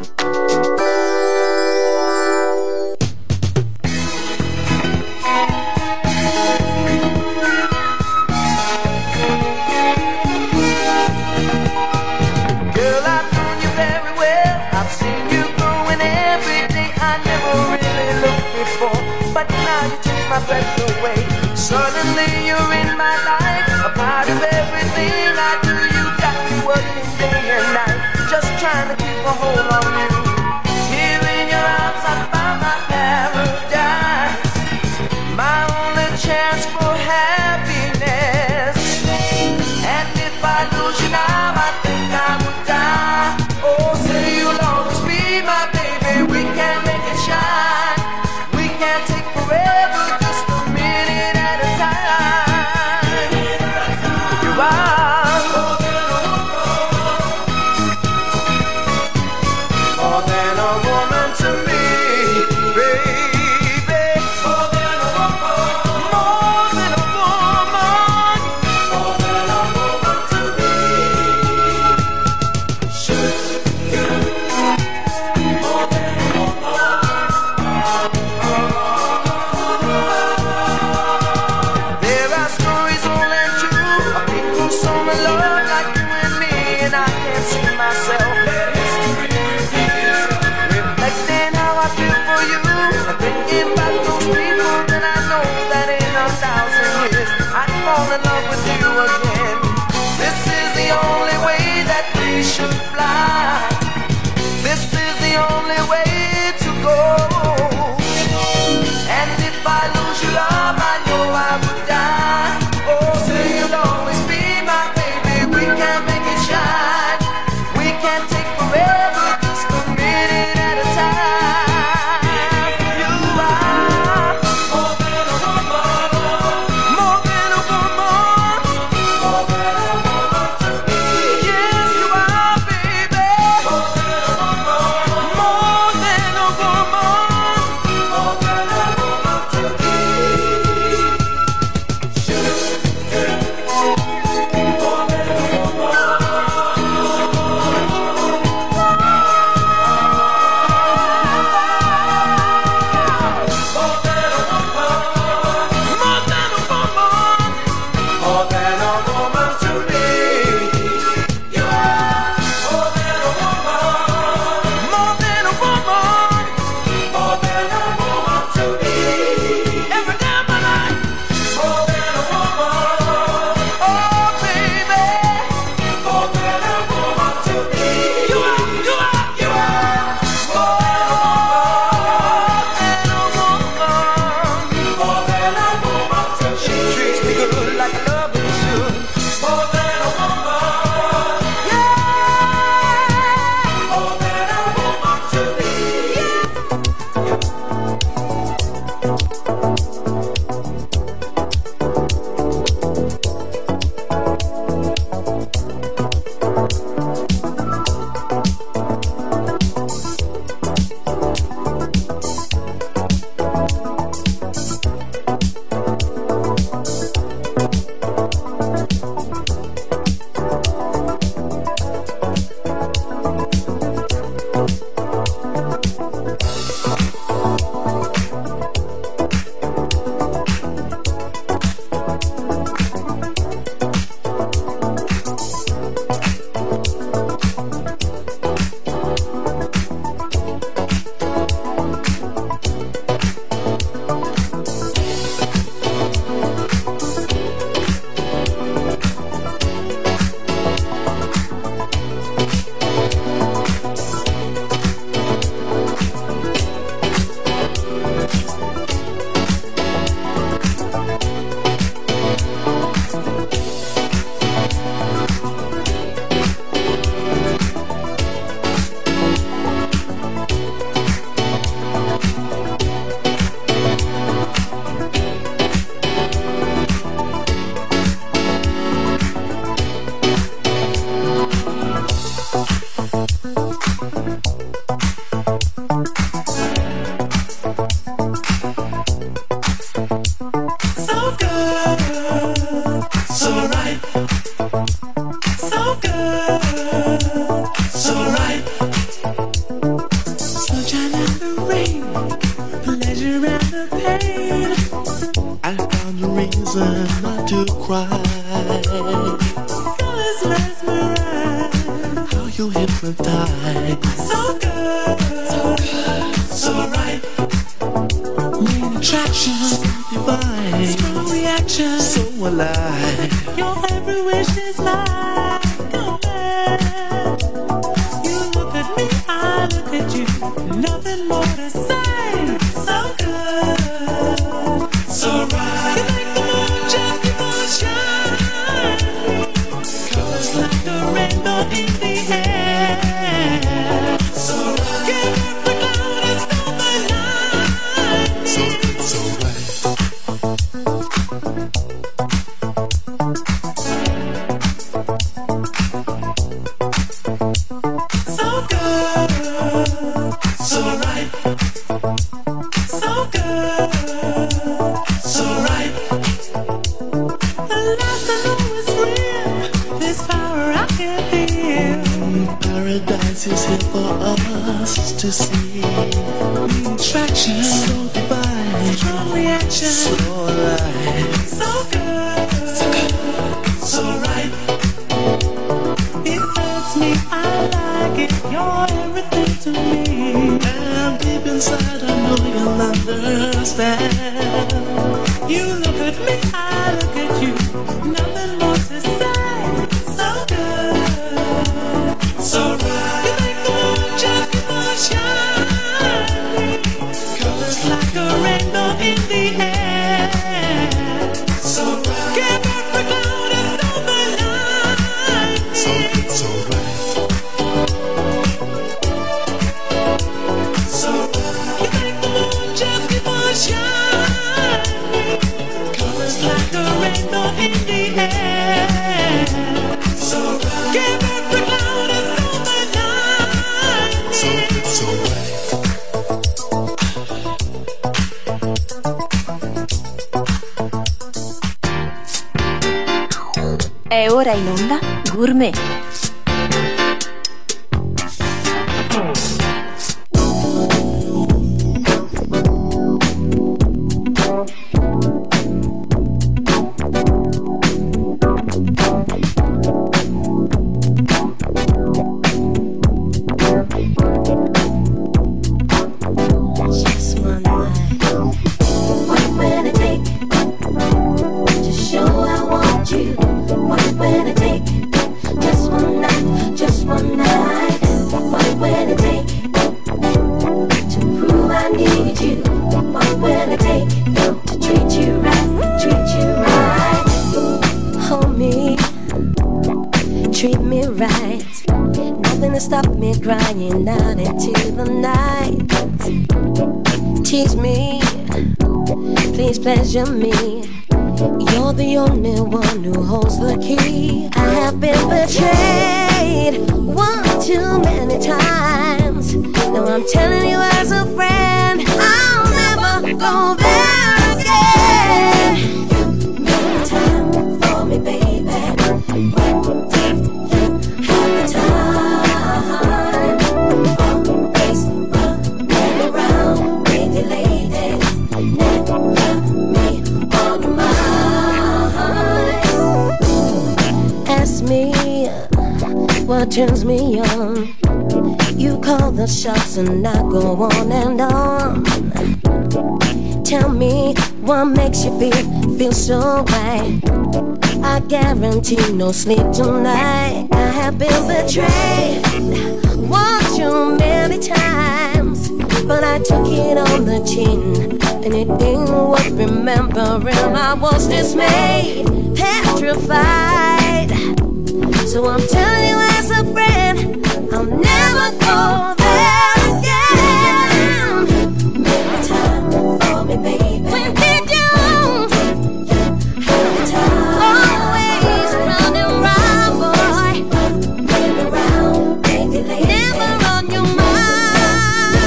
Girl, I've known you very well. I've seen you growing every day. I never really looked before, but now you take my breath away. Suddenly you're in my life, a part of everything I do. You got me working day and night, just trying to keep a hold on you. Here in your arms I found my paradise, my only chance for happiness. And if I lose you now, I think I would die. Oh, say you'll always be my baby. We can make it shine. We can take forever, just a minute at a time. You are. Oh, pleasure and the pain. I found a reason not to cry. Colors mesmerize, how you hypnotize. So good, so good, so right. Main attraction, so divine. Strong reaction, so alive. Your every wish is mine. Go back. You look at me, I look at you. Nothing more to say. So good, so right. You make the moon just keep on shining. Colors like a rainbow in the air. So right. Give up the cloud and stop the night. So good, so right. So good, so right. So good, so right. The last I know is real. This power I can feel. Paradise is here for us to see. Attraction, so divine. Strong reaction, so alive. So good, so good, so right. It hurts me, I like it. You're everything to me. And deep inside I know you'll understand. You look at me, I look at you. Nothing more to say. So good, so right. You make the moon just keep on shining. Colors like a rainbow in the air. So right. Give up the cloud and stop the night. So good, so right. So right. You make the moon just keep on shining. Colors like a rainbow in the air. So right. Give up the cloud and stop the night. So good, so right. È ora in onda Gourmet. Just one night. What will it take to show I want you? What will it take? Just one night, just one night. What will it take to prove I need you? What will it take to treat you right, treat you right? Hold me, treat me right. Nothing to stop me crying out into the night. Tease me, please pleasure me. You're the only one who holds the key. I have been betrayed one too many times. Now I'm telling you as a friend, I'll never go there again. You make time for me, baby. When did you have the time? Always running around with your ladies. Never me on your mind. Ask me what turns me on. You call the shots and I go on and on. Tell me what makes you feel, feel so right. I guarantee no sleep tonight. I have been betrayed one too many times, but I took it on the chin, and it ain't worth remembering. I was dismayed, petrified. So I'm telling you as a friend, I'll never go there again. Make time for me, baby. When did you have time? Always running round, boy. Running around, baby, lady. Never on your mind.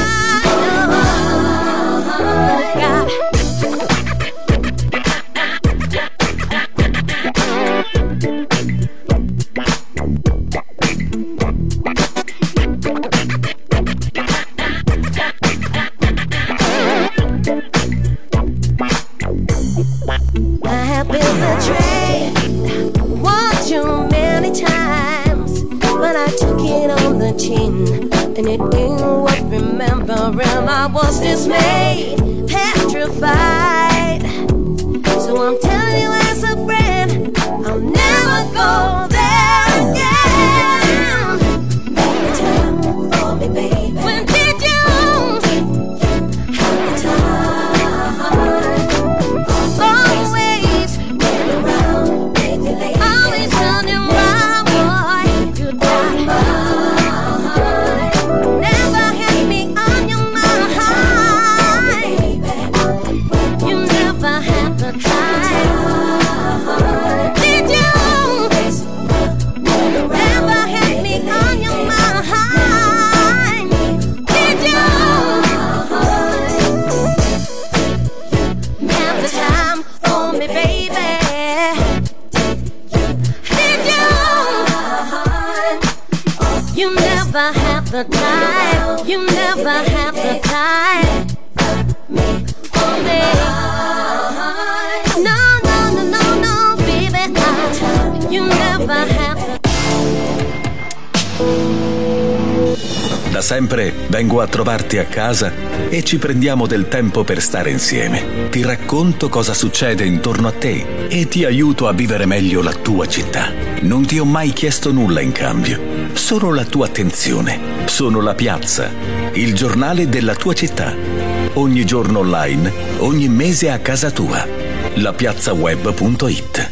Oh, God. have been betrayed one too many times, but I took it on the chin, and it ain't worth remembering. I was dismayed, petrified. So I'm telling you as a friend, I'll never go there again. Make time for me, baby. When did you have the time? Always running around, baby, lady. Always running around, boy. You got mine. Never had me on your mind. You never had the time. Did you? Never had me on your mind. Did you? Never time for me, baby. Did you? You never have the time. You never have the time for me. No, no, no, no, no, baby. You never have the Da sempre vengo a trovarti a casa e ci prendiamo del tempo per stare insieme. Ti racconto cosa succede intorno a te e ti aiuto a vivere meglio la tua città. Non ti ho mai chiesto nulla in cambio, solo la tua attenzione. Sono La Piazza, il giornale della tua città. Ogni giorno online, ogni mese a casa tua. la piazza web punto it.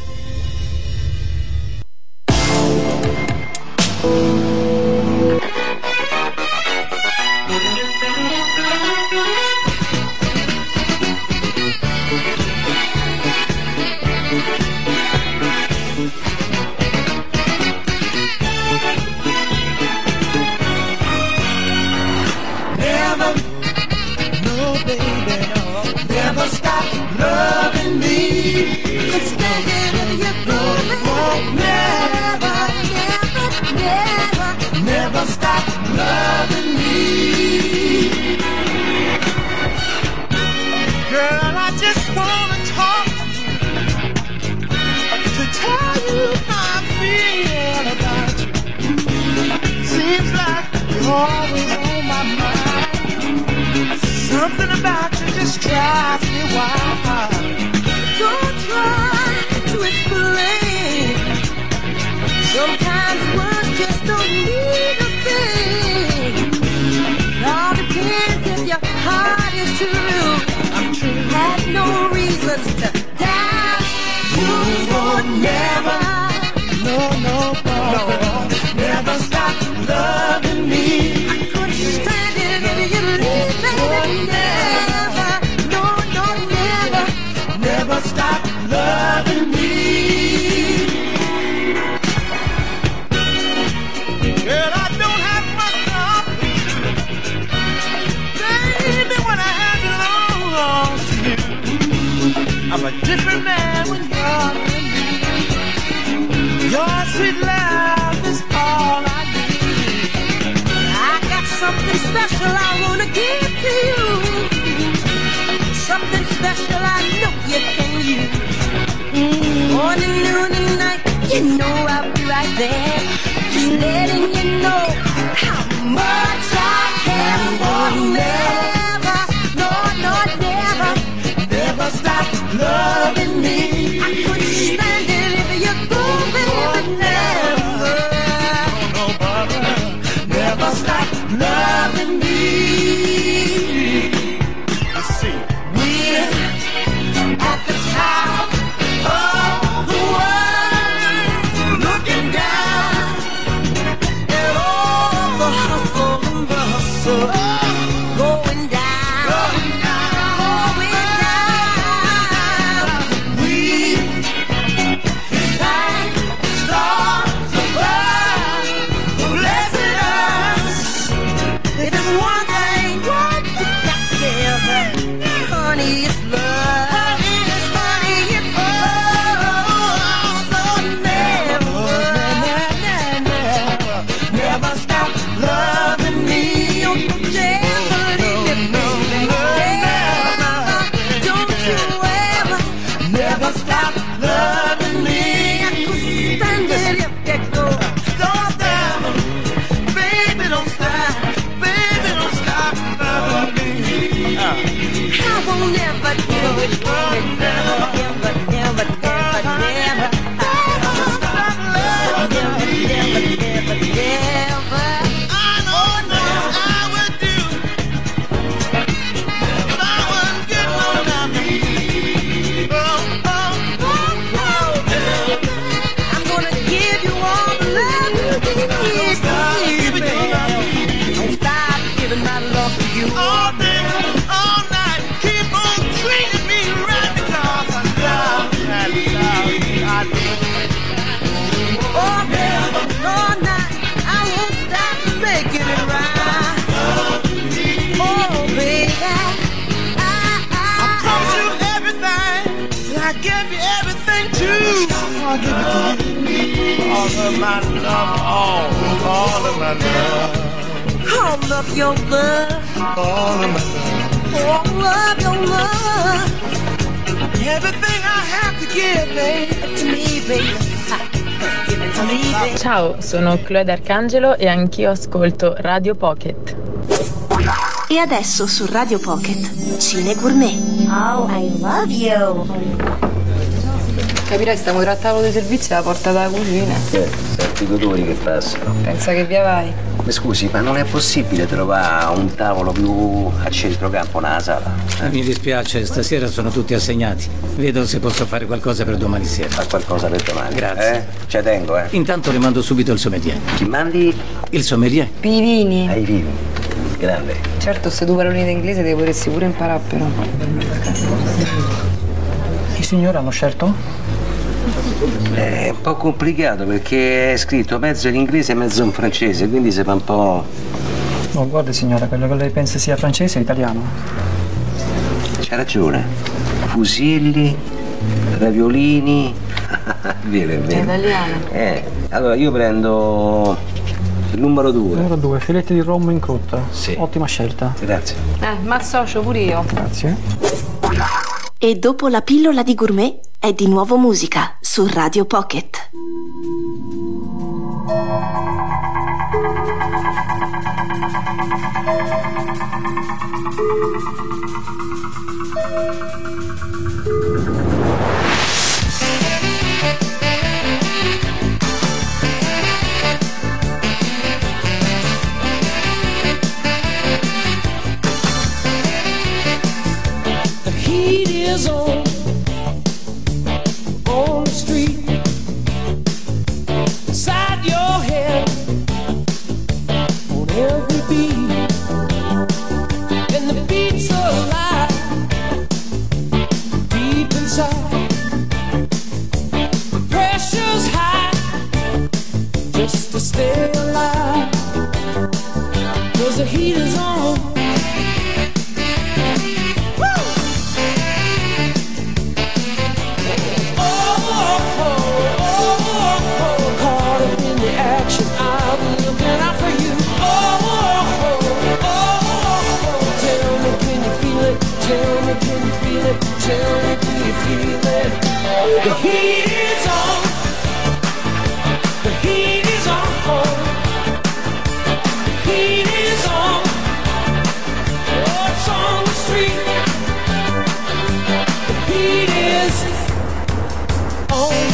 Never, no baby, no, never stop loving me. Just stay in your good, never, never, never, never stop loving me. Girl, I just wanna talk to tell you how I feel about you. Seems like you're always on my mind. Something about you just drives me wild. Don't try to explain. Sometimes words just don't mean a thing. It all depends if your heart is true. I'm true. Have no reasons to doubt. You will never, no, no, no, never stop loving me. I couldn't stand it if you leave me. Never, no, no, never, never. I will never do it, never, never, never, never, never, never, never, never, never. I know now I would do if I was getting on my knees. Oh, oh, oh, oh. I'm gonna give you all the love you need. Don't stop giving my love to you all day, all night. Keep on treating me right because I love you. I love you. I do. All day, all night, I won't stop making it right. Oh, baby, I, I, I promise you everything. I give you everything too. I'll give it to you. All of my love, all, all of my love. All of your love, all of my love, all of your love. Everything I have to give, baby, to me, baby. Give it to me, baby. Ciao, sono Chloe D'Arcangelo e anch'io ascolto Radio Pocket. E adesso su Radio Pocket, Cine Gourmet. Oh, I love you. Capirai, stiamo tra tavolo di servizio alla porta della cucina. Eh, senti i odori che passano. Pensa che via vai? Mi scusi, ma non è possibile trovare un tavolo più a centrocampo nella sala? Eh, mi dispiace, stasera sono tutti assegnati. Vedo se posso fare qualcosa per domani sera. Fa qualcosa per domani? Grazie. Eh? Ci tengo, eh. Intanto le mando subito il sommelier. Chi mandi? Il sommelier. Per i vini. Ai vini. Grande. Certo, se tu parli in inglese devi potersi pure imparare però. I signori hanno scelto? È un po' complicato perché è scritto mezzo in inglese e mezzo in francese, quindi si fa un po'... No, guardi signora, quello che lei pensa sia francese è italiano. C'ha ragione. Fusilli, raviolini... vero, è È vero. italiano. Eh, allora io prendo il numero due. Numero due, filetti di rombo in cotta. Sì. Ottima scelta. Grazie. Eh, ma associo pure io. Grazie. E dopo la pillola di gourmet è di nuovo musica su Radio Pocket. The heat is on, on the street, inside your head, on every beat, and the beats alive, deep inside. The pressure's high, just to stay alive, 'cause the heat is on. Tell me, do you feel it? The heat is on. The heat is on. The heat is on. Oh, it's on the street. The heat is on.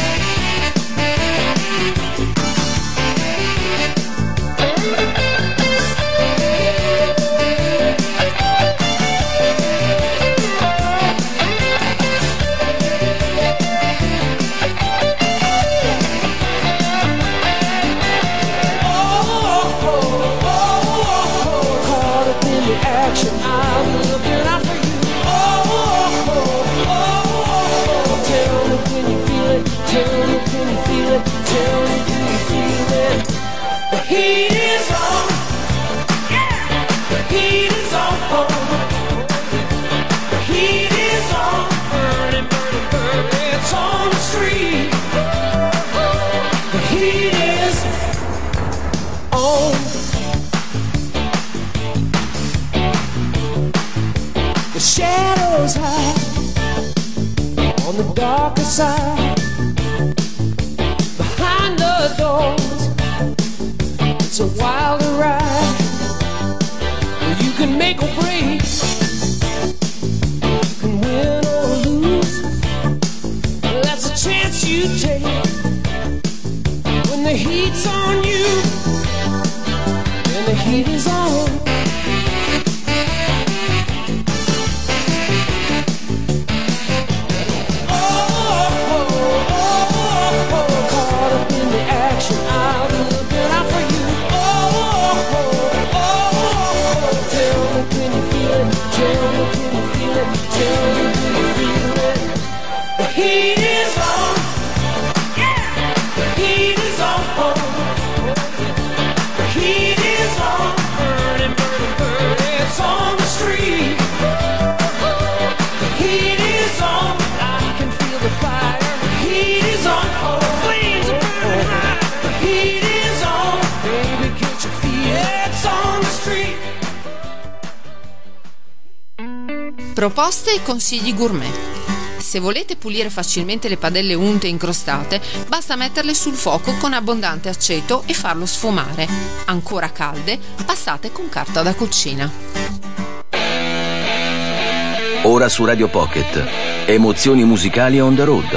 Shadows hide on the darker side. Behind the doors, it's a wilder ride. You can make or break Proposte e consigli gourmet. Se volete pulire facilmente le padelle unte e incrostate, basta metterle sul fuoco con abbondante aceto e farlo sfumare. Ancora calde, passate con carta da cucina. Ora su Radio Pocket, emozioni musicali on the road.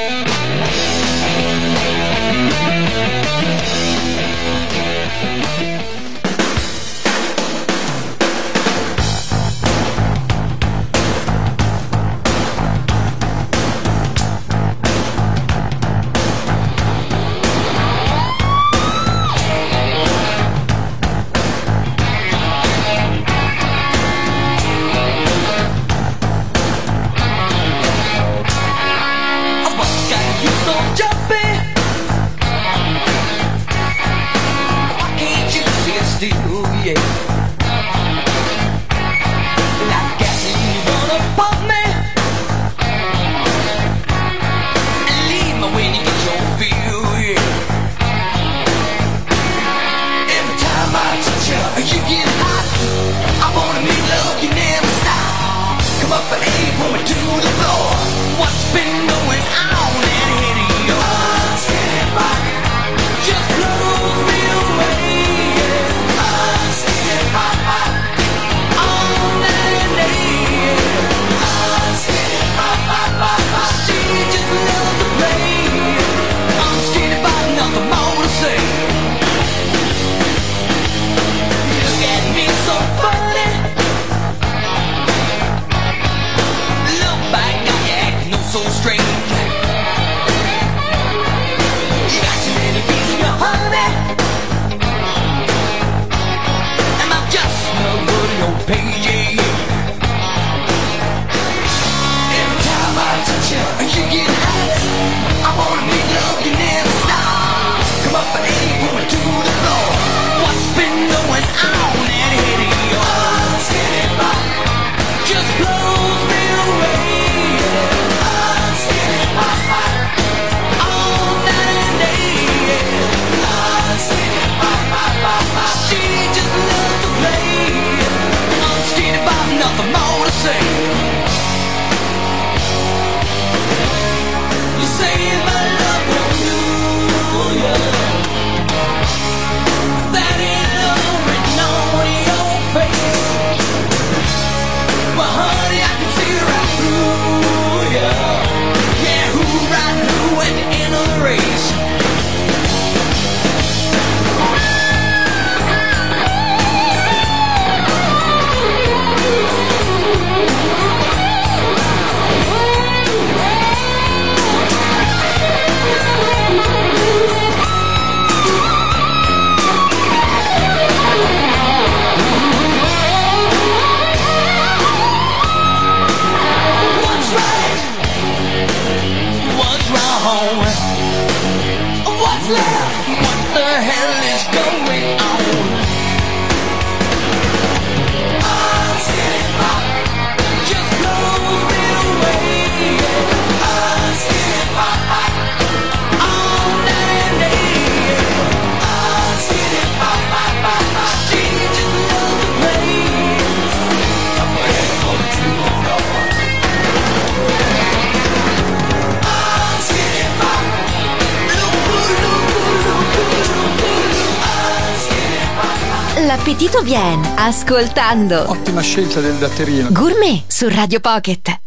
L'appetito viene ascoltando. Ottima scelta del datterino. Gourmet su Radio Pocket.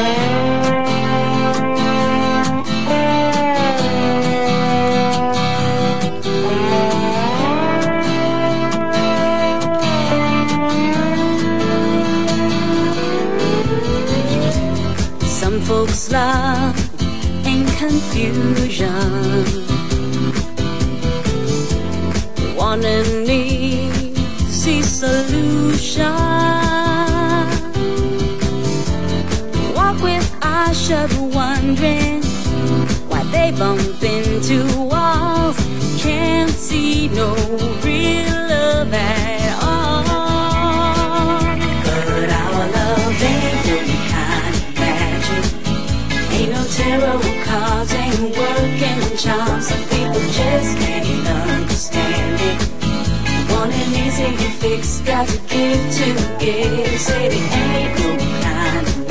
Some folks love in confusion, want and need see solution. Walk with eyes shut, wondering why they bump into walls. Can't see no real love at all. But our love ain't no kind of magic. Ain't no tarot cards, ain't working charms. Some people just can't understand it. Want an easy fix, got to give to give. Say there ain't no kind of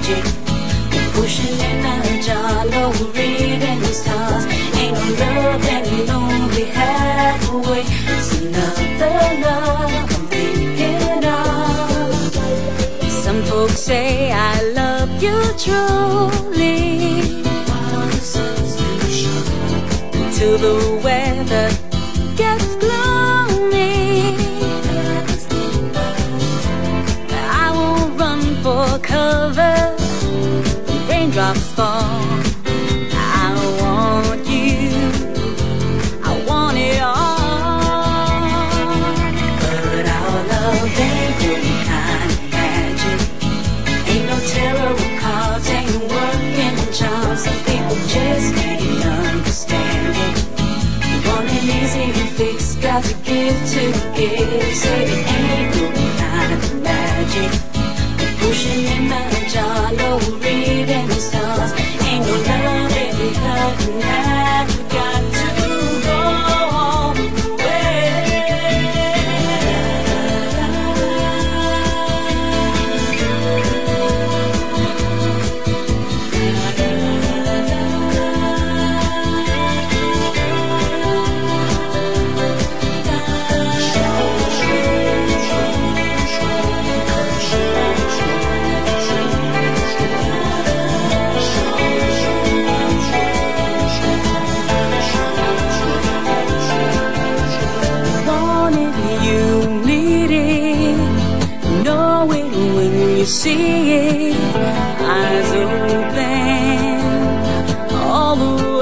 magic. Pushing in a jar, no reading stars. Ain't no love any lonely halfway. It's another love I'm thinking of. Some folks say I love you truly, till the weather gets gloomy. I won't run for cover, raindrops fall. I want you, I want it all. But our love ain't good kind of magic. Ain't no tarot cards, ain't working charms. Some people just can't understand it. Want it easy to fix, got to give to give. Say it ain't no kind of magic. Pushing in my jar, no reading the stars. Ain't no love in the cut in half. We got to go all the way. Want it, you need it. Know it when you see it. Eyes open all the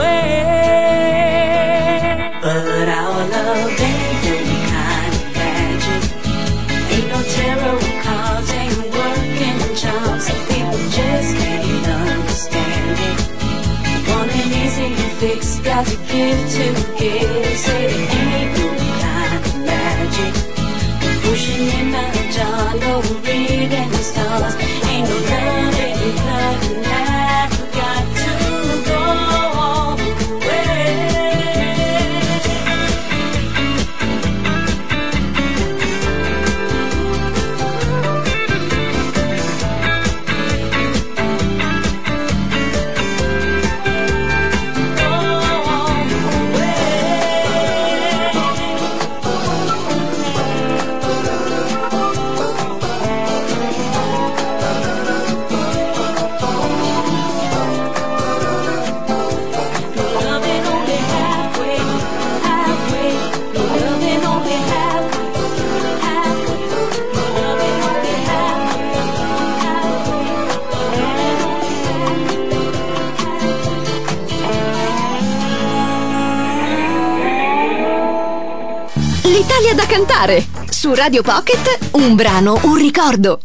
way. But our love ain't no kind of magic. Ain't no tarot cards, ain't working charms. Some people just can't understand it. Want it easy to fix, got to give to give. Say it ain't no kind of magic. Pushing in a jar, no reading the stars. Ain't no love in the cut in half. We got to go all the way. Loving only halfway, halfway. Loving only halfway, halfway. Loving only halfway, L'Italia da cantare. Su Radio Pocket, un brano, un ricordo.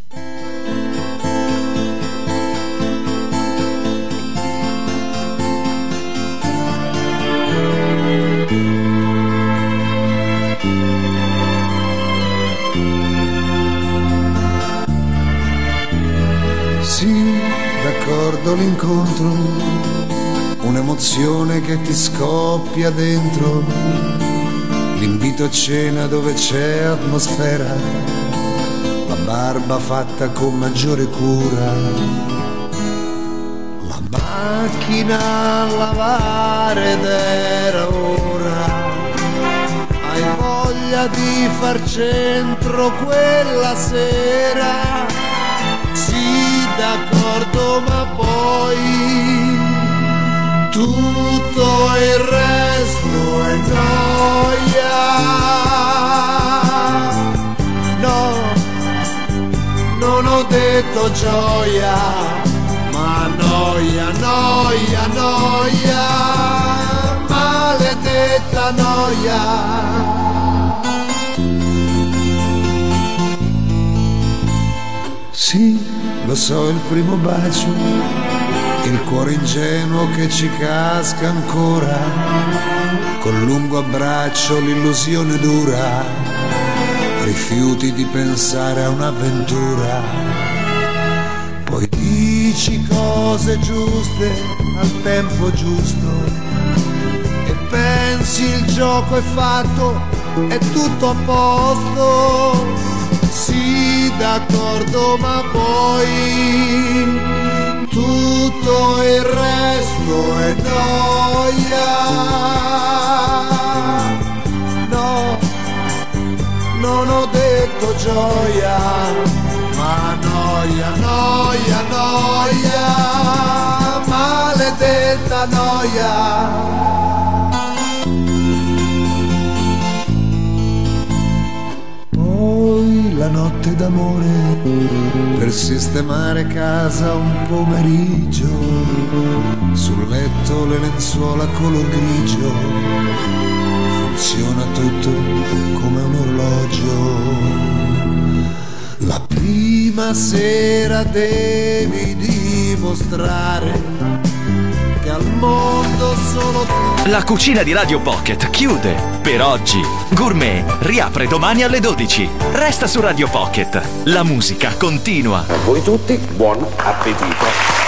Sì, d'accordo l'incontro, un'emozione che ti scoppia dentro, l'invito a cena dove c'è atmosfera, la barba fatta con maggiore cura, la macchina a lavare ed era ora, hai voglia di far centro quella sera. Sì, d'accordo, ma poi tutto il resto è noia. No, non ho detto gioia, ma noia, noia, noia, maledetta noia. Sì, lo so, il primo bacio, il cuore ingenuo che ci casca ancora, col lungo abbraccio l'illusione dura, rifiuti di pensare a un'avventura, poi dici cose giuste al tempo giusto e pensi il gioco è fatto, è tutto a posto. Sì, d'accordo, ma poi gioia, ma noia, noia, noia, maledetta noia. Poi la notte d'amore per sistemare casa un pomeriggio, sul letto le lenzuola color grigio, funziona tutto come un orologio. La prima sera devi dimostrare che al mondo solo tu. La cucina di Radio Pocket chiude per oggi. Gourmet riapre domani alle dodici. Resta su Radio Pocket. La musica continua. A voi tutti, buon appetito.